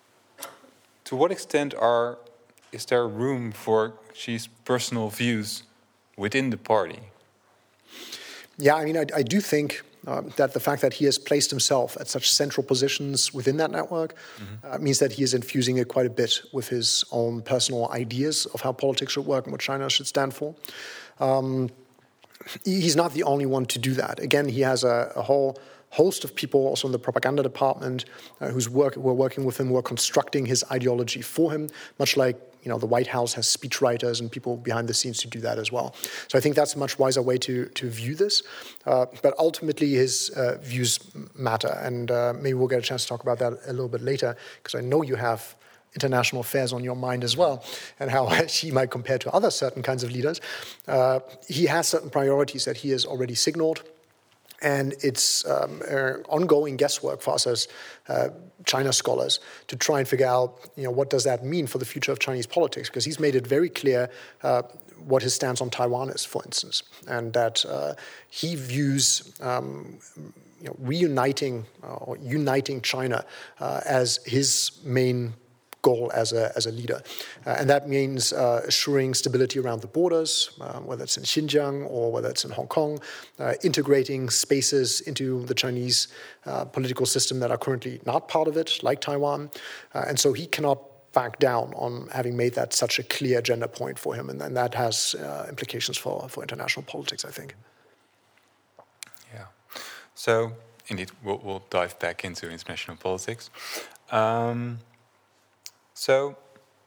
to what extent are is there room for Xi's personal views within the party? Yeah, I mean, I, I do think um, that the fact that he has placed himself at such central positions within that network mm-hmm. uh, means that he is infusing it quite a bit with his own personal ideas of how politics should work and what China should stand for. Um, he's not the only one to do that. Again, he has a, a whole host of people also in the propaganda department uh, who's work, who are working with him, who are constructing his ideology for him, much like you know, the White House has speechwriters and people behind the scenes to do that as well. So I think that's a much wiser way to, to view this. Uh, but ultimately, his uh, views matter. And uh, maybe we'll get a chance to talk about that a little bit later, because I know you have international affairs on your mind as well, and how she might compare to other certain kinds of leaders. Uh, he has certain priorities that he has already signaled. And it's um, uh, ongoing guesswork for us as uh, China scholars to try and figure out, you know, what does that mean for the future of Chinese politics? Because he's made it very clear uh, what his stance on Taiwan is, for instance, and that uh, he views um, you know, reuniting uh, or uniting China uh, as his main goal as a as a leader, uh, and that means uh, assuring stability around the borders, uh, whether it's in Xinjiang or whether it's in Hong Kong, uh, integrating spaces into the Chinese uh, political system that are currently not part of it, like Taiwan, uh, and so he cannot back down on having made that such a clear agenda point for him, and, and that has uh, implications for for international politics, I think. Yeah. So indeed, we'll, we'll dive back into international politics. Um, So,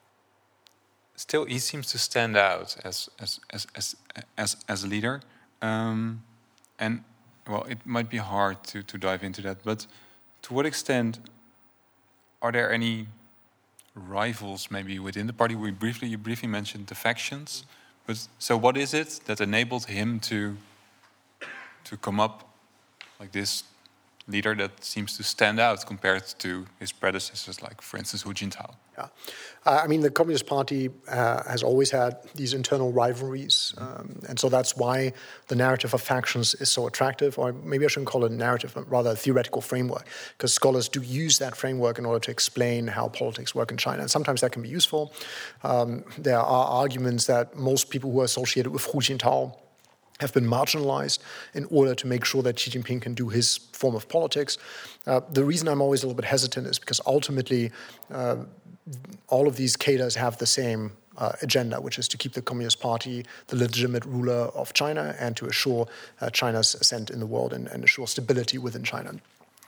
still, he seems to stand out as as as as as, as a leader, um, and well, it might be hard to, to dive into that. But to what extent are there any rivals, maybe within the party? We briefly you briefly mentioned the factions, but so what is it that enabled him to to come up like this leader that seems to stand out compared to his predecessors, like, for instance, Hu Jintao? Yeah, uh, I mean, the Communist Party uh, has always had these internal rivalries, um, and so that's why the narrative of factions is so attractive, or maybe I shouldn't call it a narrative, but rather a theoretical framework, because scholars do use that framework in order to explain how politics work in China, and sometimes that can be useful. Um, there are arguments that most people who are associated with Hu Jintao have been marginalized in order to make sure that Xi Jinping can do his form of politics. Uh, the reason I'm always a little bit hesitant is because ultimately uh, all of these cadres have the same uh, agenda, which is to keep the Communist Party the legitimate ruler of China and to assure uh, China's ascent in the world and, and assure stability within China.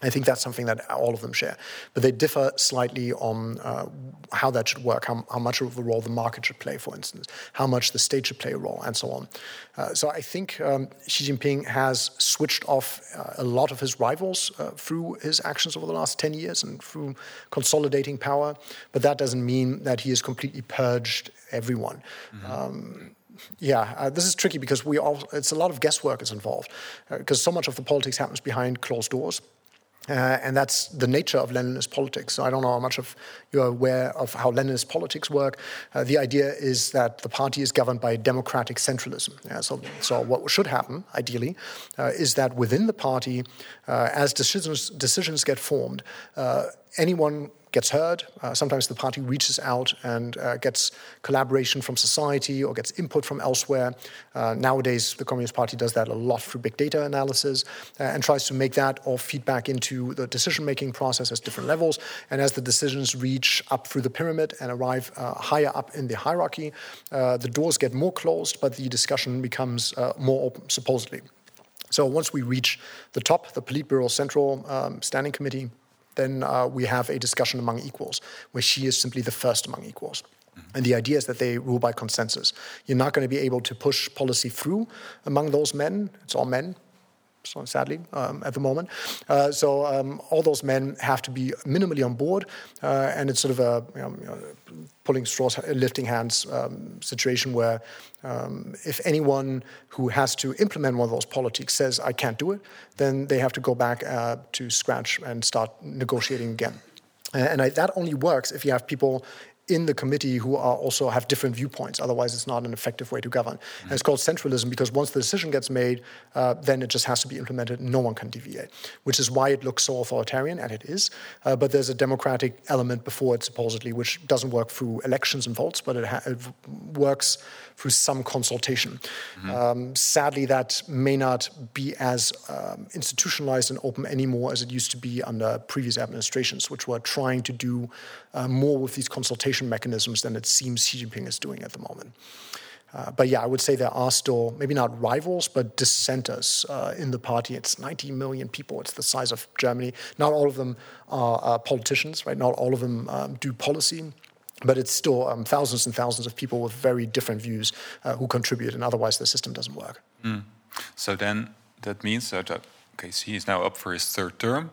I think that's something that all of them share. But they differ slightly on uh, how that should work, how, how much of a role the market should play, for instance, how much the state should play a role, and so on. Uh, so I think um, Xi Jinping has switched off uh, a lot of his rivals uh, through his actions over the last ten years and through consolidating power. But that doesn't mean that he has completely purged everyone. Mm-hmm. Um, Yeah, uh, this is tricky because we all, it's a lot of guesswork is involved because uh, so much of the politics happens behind closed doors. Uh, and that's the nature of Leninist politics. So I don't know how much of you're aware of how Leninist politics work. Uh, the idea is that the party is governed by democratic centralism. Yeah, so, so what should happen, ideally, uh, is that within the party, uh, as decisions, decisions get formed, uh, anyone gets heard. Uh, sometimes the party reaches out and uh, gets collaboration from society or gets input from elsewhere. Uh, nowadays, the Communist Party does that a lot through big data analysis uh, and tries to make that all feed back into the decision-making process at different levels. And as the decisions reach up through the pyramid and arrive uh, higher up in the hierarchy, uh, the doors get more closed, but the discussion becomes uh, more open, supposedly. So once we reach the top, the Politburo Central um, Standing Committee, then uh, we have a discussion among equals, where Xi is simply the first among equals. Mm-hmm. And the idea is that they rule by consensus. You're not going to be able to push policy through among those men. It's all men, so sadly, um, at the moment. Uh, so um, all those men have to be minimally on board, uh, and it's sort of a you know, you know, pulling straws, lifting hands um, situation where um, if anyone who has to implement one of those politics says, I can't do it, then they have to go back uh, to scratch and start negotiating again. Uh, and I, that only works if you have people in the committee who are also have different viewpoints. Otherwise, it's not an effective way to govern. Mm-hmm. And it's called centralism because once the decision gets made, uh, then it just has to be implemented. No one can deviate, which is why it looks so authoritarian, and it is. Uh, but there's a democratic element before it, supposedly, which doesn't work through elections and votes, but it, ha- it works through some consultation. Mm-hmm. Um, sadly, that may not be as um, institutionalized and open anymore as it used to be under previous administrations, which were trying to do uh, more with these consultation mechanisms than it seems Xi Jinping is doing at the moment. Uh, but yeah, I would say there are still, maybe not rivals, but dissenters uh, in the party. It's ninety million people. It's the size of Germany. Not all of them are uh, politicians, right? Not all of them um, do policy. But it's still um, thousands and thousands of people with very different views uh, who contribute, and otherwise the system doesn't work. Mm. So then that means that, okay, Xi is now up for his third term.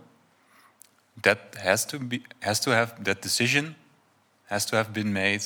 That has to be has to have that decision has to have been made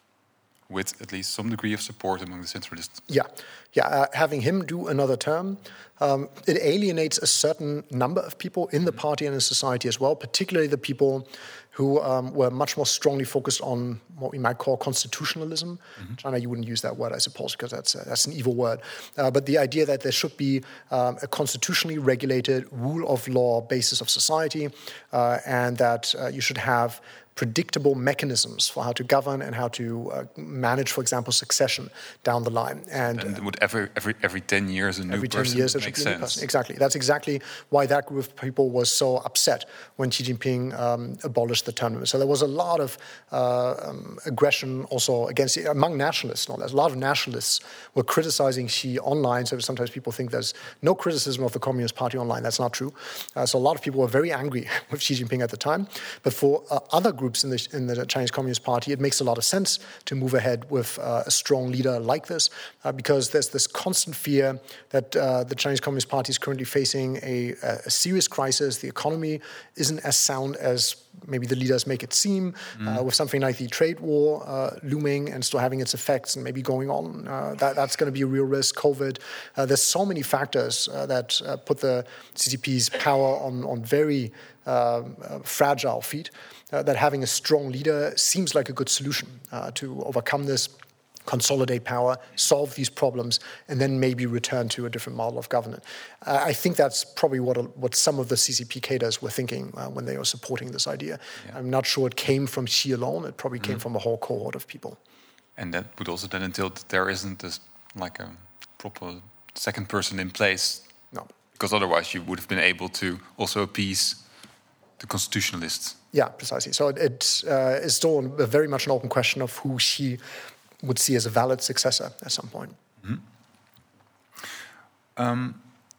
with at least some degree of support among the centralists. Yeah, yeah. Uh, having him do another term, um, it alienates a certain number of people in the party and in society as well, particularly the people who um, were much more strongly focused on what we might call constitutionalism. Mm-hmm. China, you wouldn't use that word, I suppose, because that's uh, that's an evil word. Uh, but the idea that there should be um, a constitutionally regulated rule of law basis of society, uh, and that uh, you should have predictable mechanisms for how to govern and how to uh, manage, for example, succession down the line. And, and would every every every ten years a new every person ten years there should be a new person. Exactly. That's exactly why that group of people was so upset when Xi Jinping um, abolished the term limit. So there was a lot of uh, um, aggression also against among nationalists. No less. A lot of nationalists were criticizing Xi online. So sometimes people think there's no criticism of the Communist Party online. That's not true. Uh, so a lot of people were very angry with Xi Jinping at the time. But for uh, other groups in the, in the Chinese Communist Party, it makes a lot of sense to move ahead with uh, a strong leader like this, uh, because there's this constant fear that uh, the Chinese Communist Party is currently facing a, a serious crisis. The economy isn't as sound as maybe the leaders make it seem, mm. uh, with something like the trade war uh, looming and still having its effects and maybe going on. Uh, that, that's going to be a real risk. COVID. Uh, there's so many factors uh, that uh, put the C C P's power on, on very uh, uh, fragile feet. Uh, that having a strong leader seems like a good solution uh, to overcome this, consolidate power, solve these problems, and then maybe return to a different model of governance. Uh, I think that's probably what what some of the C C P cadres were thinking uh, when they were supporting this idea. Yeah. I'm not sure it came from Xi alone. It probably came mm. from a whole cohort of people. And that would also then entail that there isn't this, like a proper second person in place. No. Because otherwise you would have been able to also appease the constitutionalists. Yeah, precisely. So it, it uh, is still a very much an open question of who Xi would see as a valid successor at some point. Mm-hmm. Um,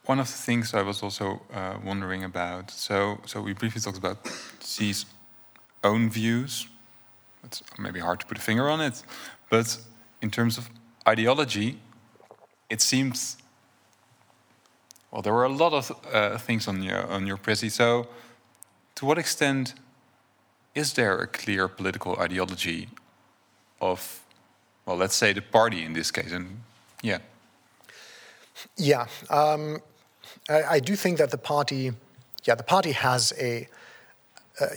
one of the things I was also uh, wondering about, so so we briefly talked about Xi's own views. It's maybe hard to put a finger on it, but in terms of ideology, it seems, well, there were a lot of uh, things on your on your Prezi. So, to what extent is there a clear political ideology of, well, let's say the party in this case? And yeah, yeah, um, I, I do think that the party, yeah, the party has a. Uh,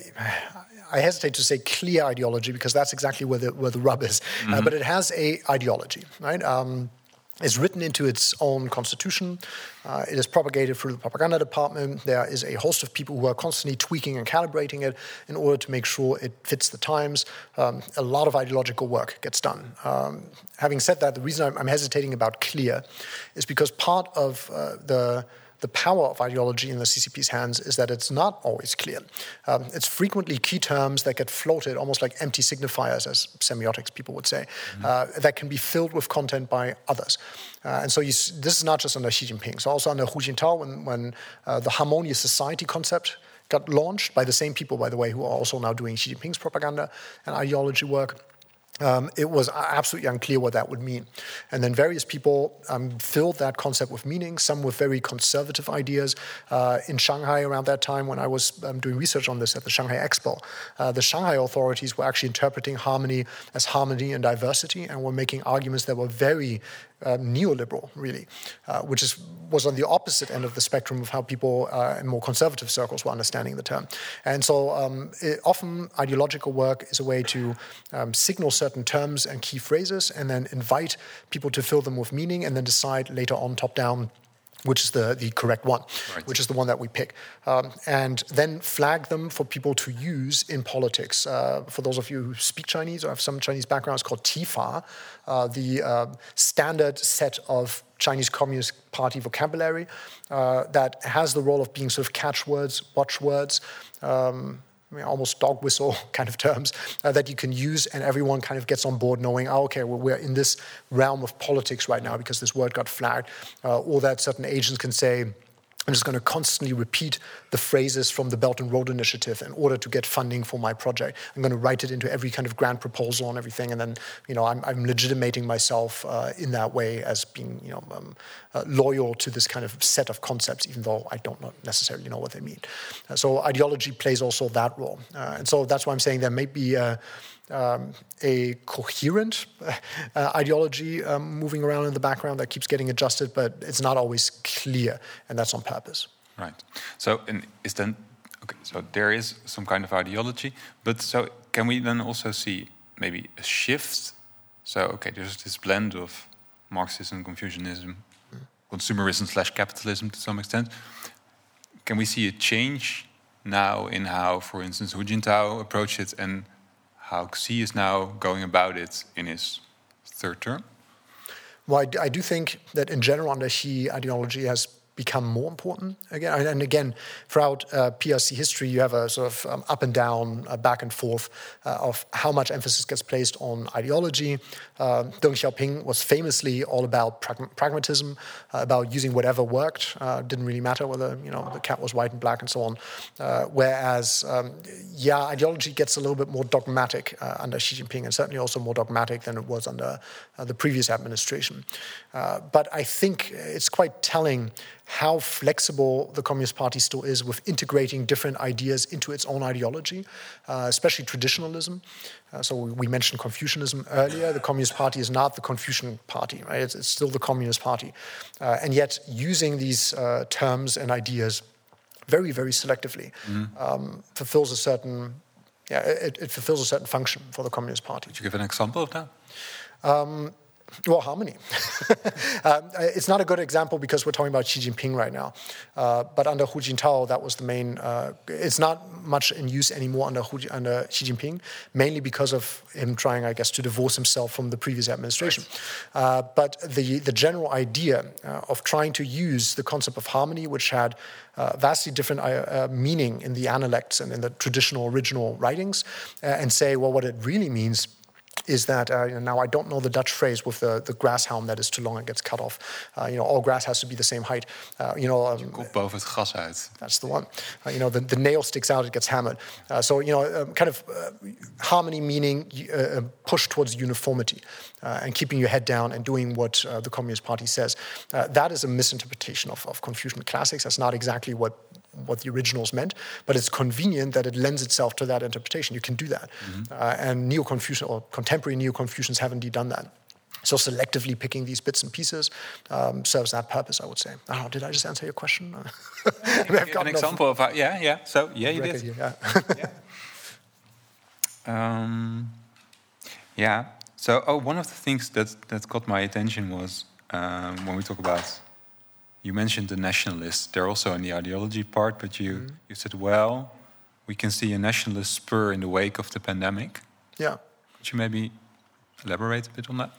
I hesitate to say clear ideology because that's exactly where the where the rub is. Mm-hmm. Uh, but it has a ideology, right? Um, it's written into its own constitution. Uh, it is propagated through the propaganda department. There is a host of people who are constantly tweaking and calibrating it in order to make sure it fits the times. Um, a lot of ideological work gets done. Um, having said that, the reason I'm, I'm hesitating about clear is because part of uh, the The power of ideology in the C C P's hands is that it's not always clear. Um, it's frequently key terms that get floated, almost like empty signifiers, as semiotics people would say, mm-hmm. uh, that can be filled with content by others. Uh, and so you, this is not just under Xi Jinping. So also under Hu Jintao, when, when uh, the harmonious society concept got launched by the same people, by the way, who are also now doing Xi Jinping's propaganda and ideology work. Um, it was absolutely unclear what that would mean. And then various people um, filled that concept with meaning, some with very conservative ideas. Uh, in Shanghai around that time, when I was um, doing research on this at the Shanghai Expo, uh, the Shanghai authorities were actually interpreting harmony as harmony and diversity and were making arguments that were very um, neoliberal, really, uh, which is was on the opposite end of the spectrum of how people uh, in more conservative circles were understanding the term. And so um, it, often ideological work is a way to um, signal certain terms and key phrases and then invite people to fill them with meaning and then decide later on top-down which is the, the correct one, right. which is the one that we pick. Um, and then flag them for people to use in politics. Uh, for those of you who speak Chinese or have some Chinese background, it's called Tifa, uh, the uh, standard set of Chinese Communist Party vocabulary uh, that has the role of being sort of catchwords, watchwords, um, I mean, almost dog whistle kind of terms uh, that you can use, and everyone kind of gets on board knowing, oh, okay, well, we're in this realm of politics right now because this word got flagged, uh, or that certain agents can say, I'm just going to constantly repeat the phrases from the Belt and Road Initiative in order to get funding for my project. I'm going to write it into every kind of grant proposal and everything, and then, you know, I'm, I'm legitimating myself uh, in that way as being, you know, um, uh, loyal to this kind of set of concepts, even though I don't necessarily know what they mean. Uh, so ideology plays also that role, uh, and so that's why I'm saying there may be uh, Um, a coherent uh, ideology um, moving around in the background that keeps getting adjusted, but it's not always clear, and that's on purpose. Right. So, and is then okay? So there is some kind of ideology, but so can we then also see maybe a shift? So, okay, there's this blend of Marxism, Confucianism, mm. consumerism slash capitalism to some extent. Can we see a change now in how, for instance, Hu Jintao approached it, and how Xi is now going about it in his third term? Well, I, I do think that in general, under Xi, ideology has become more important again. And again, throughout uh, P R C history, you have a sort of um, up and down, uh, back and forth uh, of how much emphasis gets placed on ideology. Uh, Deng Xiaoping was famously all about pragma- pragmatism, uh, about using whatever worked. Uh, didn't really matter whether, you know, the cat was white and black and so on. Uh, whereas, um, yeah, ideology gets a little bit more dogmatic uh, under Xi Jinping, and certainly also more dogmatic than it was under uh, the previous administration. Uh, but I think it's quite telling how flexible the Communist Party still is with integrating different ideas into its own ideology, uh, especially traditionalism. Uh, so we, we mentioned Confucianism earlier. The Communist Party is not the Confucian Party, right? It's, it's still the Communist Party. Uh, and yet using these uh, terms and ideas very, very selectively mm-hmm. um, fulfills a certain, yeah, it, it fulfills a certain function for the Communist Party. Could you give an example of that? Um, Well, harmony. um, it's not a good example because we're talking about Xi Jinping right now. Uh, but under Hu Jintao, that was the main... Uh, it's not much in use anymore under, Hu, under Xi Jinping, mainly because of him trying, I guess, to divorce himself from the previous administration. Right. Uh, but the, the general idea uh, of trying to use the concept of harmony, which had uh, vastly different uh, meaning in the analects and in the traditional original writings, uh, and say, well, what it really means is that, uh, you know, now I don't know the Dutch phrase with the, the grass helm that is too long and gets cut off. Uh, you know, all grass has to be the same height. Uh, you know, um, Je kop boven het gras uit. That's the one. Uh, you know, the, the nail sticks out, it gets hammered. Uh, so, you know, um, kind of uh, harmony meaning uh, push towards uniformity uh, and keeping your head down and doing what uh, the Communist Party says. Uh, that is a misinterpretation of, of Confucian classics. That's not exactly what what the originals meant, but it's convenient that it lends itself to that interpretation. You can do that. Mm-hmm. uh, and Neo-Confucian or contemporary Neo-Confucians have indeed done that. So selectively picking these bits and pieces um, serves that purpose, I would say. I don't know, did I just answer your question? An example of how, yeah, yeah. So, yeah, you did. Here, yeah. yeah. Um, yeah. So, oh, one of the things that, that caught my attention was um, when we talk about, you mentioned the nationalists. They're also in the ideology part, but you, mm-hmm. you said, well, we can see a nationalist spur in the wake of the pandemic. Yeah. Could you maybe elaborate a bit on that?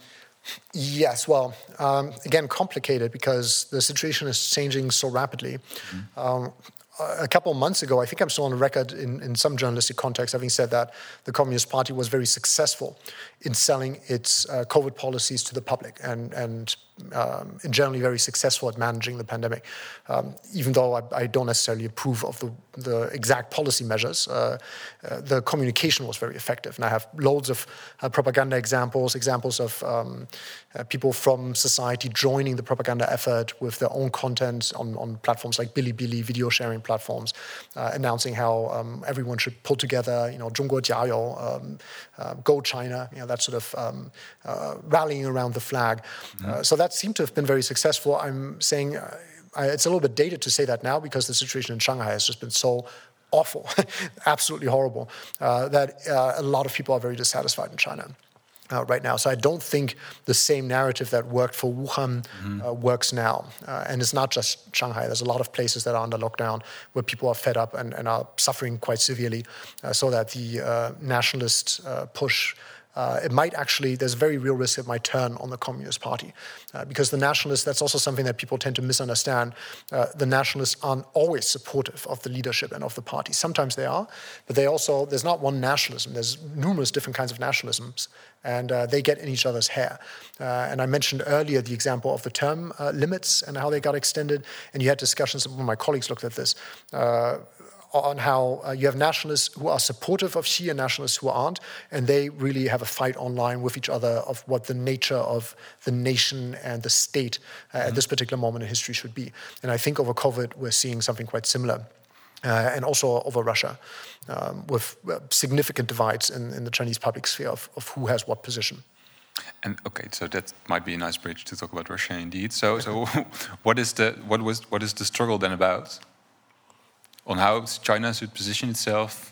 Yes, well, um, again, complicated because the situation is changing so rapidly. Mm-hmm. Um, a couple of months ago, I think I'm still on record in, in some journalistic context, having said that the Communist Party was very successful in selling its uh, COVID policies to the public and, and um, in generally very successful at managing the pandemic. Um, even though I, I don't necessarily approve of the, the exact policy measures, uh, uh, the communication was very effective. And I have loads of uh, propaganda examples, examples of um, uh, people from society joining the propaganda effort with their own content on, on platforms like Bilibili, video sharing platforms, uh, announcing how um, everyone should pull together, you know, 中国加油, um, uh, go China, you know, that sort of um, uh, rallying around the flag. Mm-hmm. Uh, so that seemed to have been very successful. I'm saying uh, I, it's a little bit dated to say that now because the situation in Shanghai has just been so awful, absolutely horrible, uh, that uh, a lot of people are very dissatisfied in China. Uh, right now. So I don't think the same narrative that worked for Wuhan mm-hmm. uh, works now. Uh, and it's not just Shanghai. There's a lot of places that are under lockdown where people are fed up and, and are suffering quite severely. Uh, so that the uh, nationalist uh, push, uh, it might actually, there's a very real risk it might turn on the Communist Party. Uh, because the nationalists, that's also something that people tend to misunderstand. Uh, the nationalists aren't always supportive of the leadership and of the party. Sometimes they are, but they also, there's not one nationalism. There's numerous different kinds of nationalisms. And uh, they get in each other's hair. Uh, and I mentioned earlier the example of the term uh, limits and how they got extended. And you had discussions, one of my colleagues looked at this, uh, on how uh, you have nationalists who are supportive of Xi and nationalists who aren't. And they really have a fight online with each other of what the nature of the nation and the state uh, mm-hmm. at this particular moment in history should be. And I think over COVID, we're seeing something quite similar. Uh, and also over Russia, um, with uh, significant divides in, in the Chinese public sphere of, of who has what position. And okay, so that might be a nice bridge to talk about Russia, indeed. So, so what is the what was what is the struggle then about? On how China should position itself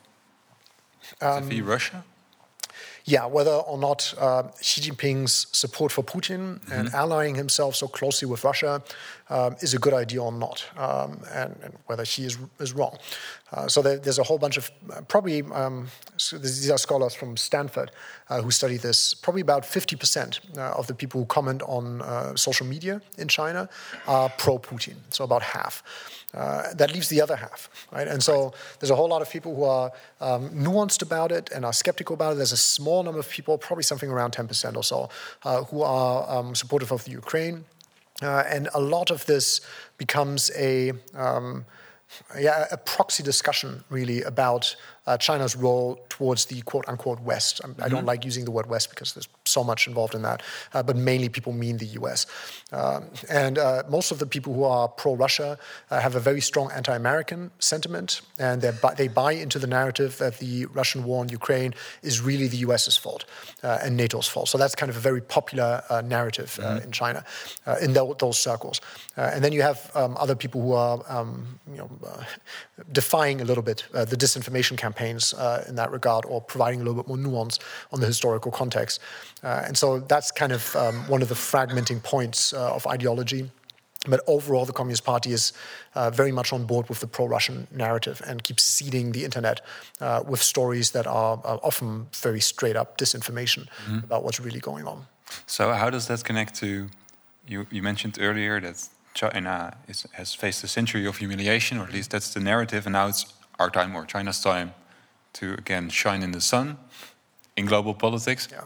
um, vis-a-vis Russia? Yeah, whether or not uh, Xi Jinping's support for Putin mm-hmm. and allying himself so closely with Russia um, is a good idea or not, um, and, and whether Xi is, is wrong. Uh, so there, there's a whole bunch of, uh, probably, um, so these are scholars from Stanford uh, who study this, probably about fifty percent uh, of the people who comment on uh, social media in China are pro-Putin, so about half. Uh, that leaves the other half, right? And so there's a whole lot of people who are um, nuanced about it and are skeptical about it. There's a small number of people, probably something around ten percent or so, uh, who are um, supportive of the Ukraine. Uh, and a lot of this becomes a... Um, Yeah, a proxy discussion, really, about uh, China's role towards the quote-unquote West. I, mm-hmm. I don't like using the word West because there's so much involved in that, uh, but mainly people mean the U S. Um, and uh, most of the people who are pro-Russia uh, have a very strong anti-American sentiment, and they buy into the narrative that the Russian war in Ukraine is really the US's fault uh, and NATO's fault. So that's kind of a very popular uh, narrative uh, mm-hmm. in China, uh, in the, those circles. Uh, and then you have um, other people who are, um, you know, uh, defying a little bit uh, the disinformation campaigns uh, in that regard, or providing a little bit more nuance on the historical context. Uh, and so that's kind of um, one of the fragmenting points uh, of ideology. But overall, the Communist Party is uh, very much on board with the pro-Russian narrative and keeps seeding the internet uh, with stories that are uh, often very straight-up disinformation mm-hmm. about what's really going on. So how does that connect to, you, you mentioned earlier that China is, has faced a century of humiliation, or at least that's the narrative, and now it's our time, or China's time, to again shine in the sun in global politics. Yeah.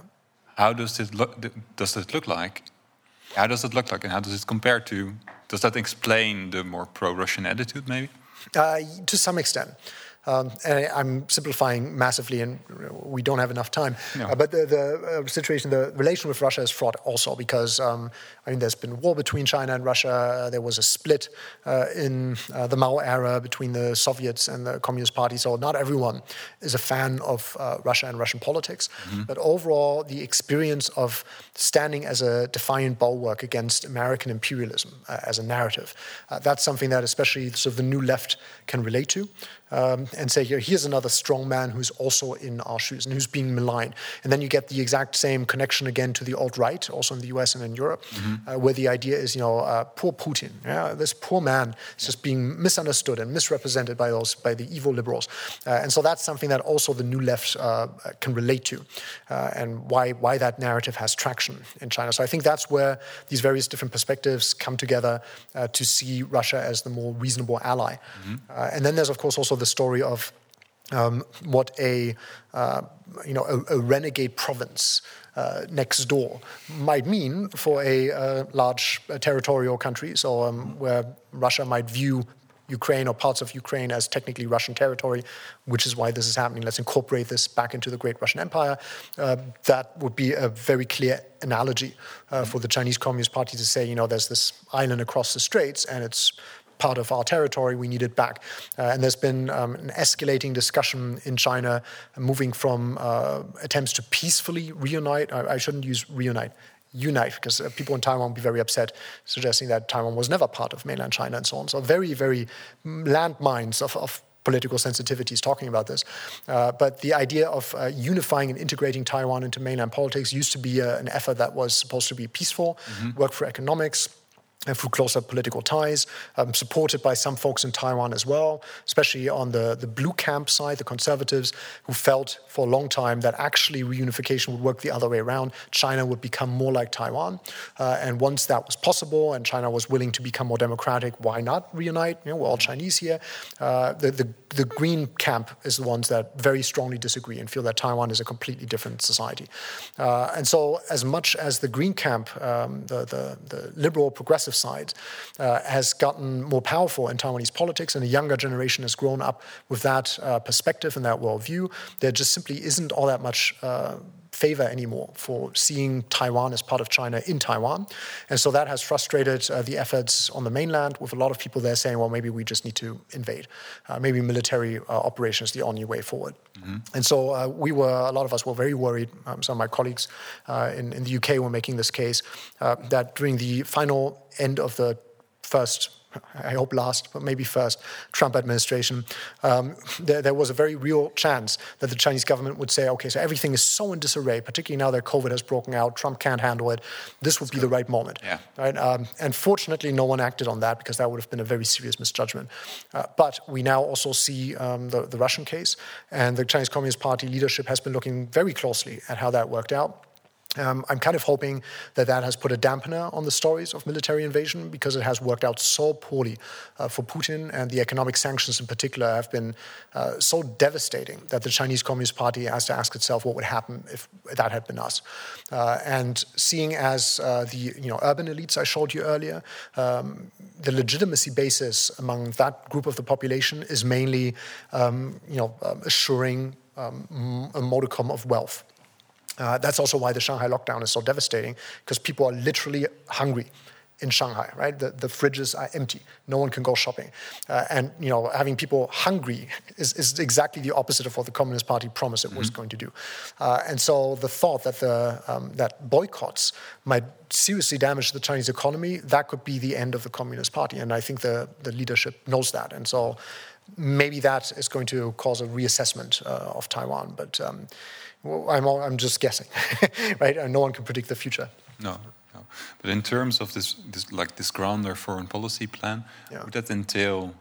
how does it look? Does it look like? How does it look like, and how does it compare to? Does that explain the more pro-Russian attitude, maybe? Uh, to some extent. Um, and I, I'm simplifying massively, and we don't have enough time. No. Uh, but the, the uh, situation, the relation with Russia is fraught also because, um, I mean, there's been war between China and Russia. There was a split uh, in uh, the Mao era between the Soviets and the Communist Party. So not everyone is a fan of uh, Russia and Russian politics. Mm-hmm. But overall, the experience of standing as a defiant bulwark against American imperialism uh, as a narrative, uh, that's something that especially sort of the new left can relate to. Um, and say, here, here's another strong man who's also in our shoes and who's being maligned. And then you get the exact same connection again to the alt-right, also in the U S and in Europe, mm-hmm. uh, where the idea is, you know, uh, poor Putin. Yeah, this poor man is yeah. just being misunderstood and misrepresented by those by the evil liberals. Uh, and so that's something that also the new left uh, can relate to, uh, and why why that narrative has traction in China. So I think that's where these various different perspectives come together uh, to see Russia as the more reasonable ally. Mm-hmm. Uh, and then there's, of course, also the story of um, what a uh, you know a, a renegade province uh, next door might mean for a uh, large uh, territorial country. So um, where Russia might view Ukraine or parts of Ukraine as technically Russian territory, which is why this is happening. Let's incorporate this back into the Great Russian Empire. Uh, that would be a very clear analogy uh, for the Chinese Communist Party to say, you know, there's this island across the straits and it's part of our territory, we need it back. Uh, and there's been um, an escalating discussion in China, moving from uh, attempts to peacefully reunite. I, I shouldn't use reunite. Unite, because uh, people in Taiwan will be very upset, suggesting that Taiwan was never part of mainland China and so on. So very, very landmines of, of political sensitivities talking about this. Uh, but the idea of uh, unifying and integrating Taiwan into mainland politics used to be uh, an effort that was supposed to be peaceful, mm-hmm. work for economics, and through closer political ties, um, supported by some folks in Taiwan as well, especially on the, the blue camp side, the conservatives, who felt for a long time that actually reunification would work the other way around. China would become more like Taiwan. Uh, and once that was possible and China was willing to become more democratic, why not reunite? You know, we're all Chinese here. Uh, the, the, the green camp is the ones that very strongly disagree and feel that Taiwan is a completely different society. Uh, and so as much as the green camp, um, the, the, the liberal progressive side uh, has gotten more powerful in Taiwanese politics, and a younger generation has grown up with that uh, perspective and that worldview, there just simply isn't all that much uh, favor anymore for seeing Taiwan as part of China in Taiwan. And so that has frustrated uh, the efforts on the mainland, with a lot of people there saying, well, maybe we just need to invade. Uh, maybe military uh, operation is the only way forward. Mm-hmm. And so uh, we were, a lot of us were very worried, um, some of my colleagues uh, in, in the U K were making this case, uh, that during the final end of the first, I hope last, but maybe first, Trump administration, um, there, there was a very real chance that the Chinese government would say, okay, so everything is so in disarray, particularly now that COVID has broken out, Trump can't handle it, this would be the right moment. Yeah. Right? Um, and fortunately, no one acted on that, because that would have been a very serious misjudgment. Uh, but we now also see um, the, the Russian case, and the Chinese Communist Party leadership has been looking very closely at how that worked out. Um, I'm kind of hoping that that has put a dampener on the stories of military invasion, because it has worked out so poorly uh, for Putin, and the economic sanctions in particular have been uh, so devastating that the Chinese Communist Party has to ask itself what would happen if that had been us. Uh, and seeing as uh, the you know urban elites I showed you earlier, um, the legitimacy basis among that group of the population is mainly um, you know um, assuring um, a modicum of wealth. Uh, that's also why the Shanghai lockdown is so devastating, because people are literally hungry in Shanghai, right? The, the fridges are empty. No one can go shopping. Uh, and, you know, having people hungry is, is exactly the opposite of what the Communist Party promised it mm-hmm. was going to do. Uh, and so the thought that the um, that boycotts might seriously damage the Chinese economy, that could be the end of the Communist Party. And I think the, the leadership knows that. And so maybe that is going to cause a reassessment uh, of Taiwan. But um, well, I'm, all, I'm just guessing, right? And no one can predict the future. No. No. But in terms of this, this like this grander foreign policy plan, yeah. would that entail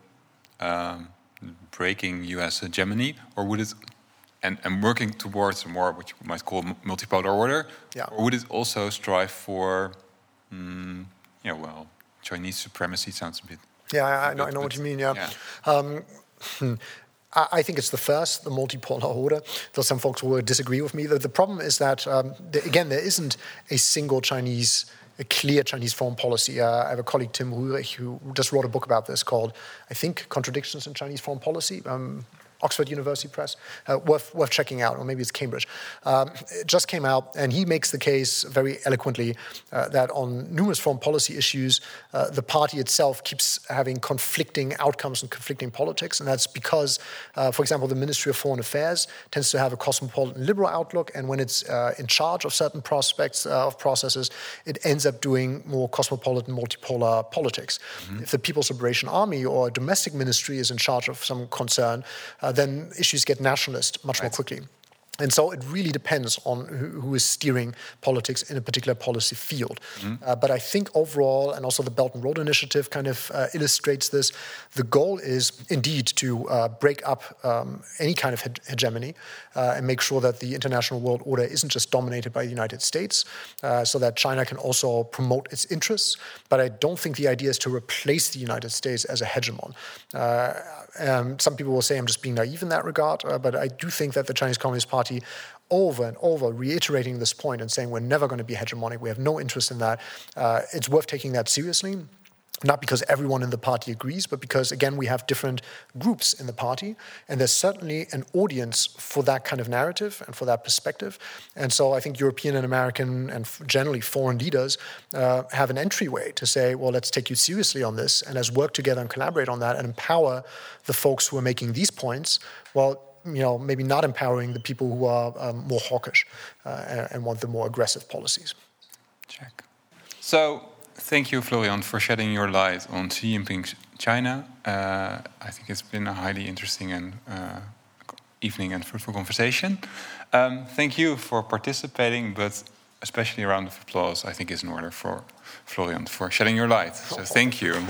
um, breaking U S hegemony, or would it, and, and working towards a more what you might call multipolar order, yeah. or would it also strive for, um, yeah, well, Chinese supremacy sounds a bit. Yeah, I, I know, I know what you mean. Yeah. yeah. Um, I think it's the first, the multipolar order, though some folks will disagree with me. The, the problem is that, um, the, again, there isn't a single Chinese, a clear Chinese foreign policy. Uh, I have a colleague, Tim Rührich, who just wrote a book about this called, I think, Contradictions in Chinese Foreign Policy. Um, Oxford University Press, uh, worth, worth checking out, or maybe it's Cambridge. Um, it just came out, and he makes the case very eloquently uh, that on numerous foreign policy issues, uh, the party itself keeps having conflicting outcomes and conflicting politics, and that's because, uh, for example, the Ministry of Foreign Affairs tends to have a cosmopolitan liberal outlook, and when it's uh, in charge of certain prospects uh, of processes, it ends up doing more cosmopolitan, multipolar politics. Mm-hmm. If the People's Liberation Army or a domestic ministry is in charge of some concern, uh, then issues get nationalist much right. more quickly. And so it really depends on who, who is steering politics in a particular policy field. Mm-hmm. Uh, but I think overall, and also the Belt and Road Initiative kind of uh, illustrates this, the goal is indeed to uh, break up um, any kind of he- hegemony uh, and make sure that the international world order isn't just dominated by the United States, uh, so that China can also promote its interests. But I don't think the idea is to replace the United States as a hegemon. Uh, um, some people will say I'm just being naive in that regard, uh, but I do think that the Chinese Communist Party over and over reiterating this point and saying we're never going to be hegemonic, we have no interest in that. Uh, it's worth taking that seriously, not because everyone in the party agrees, but because, again, we have different groups in the party, and there's certainly an audience for that kind of narrative and for that perspective. And so I think European and American and generally foreign leaders uh, have an entryway to say, well, let's take you seriously on this, and let's work together and collaborate on that and empower the folks who are making these points, well, you know, maybe not empowering the people who are um, more hawkish uh, and, and want the more aggressive policies. Check. So, thank you, Florian, for shedding your light on Xi Jinping's China. Uh, I think it's been a highly interesting and uh, evening and fruitful conversation. Um, thank you for participating, but especially a round of applause, I think, is in order for Florian for shedding your light. So, thank you.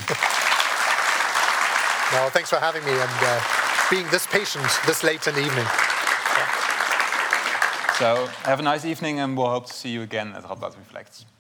No, thanks for having me and uh, being this patient this late in the evening. So, have a nice evening, and we'll hope to see you again at Radboud Reflects.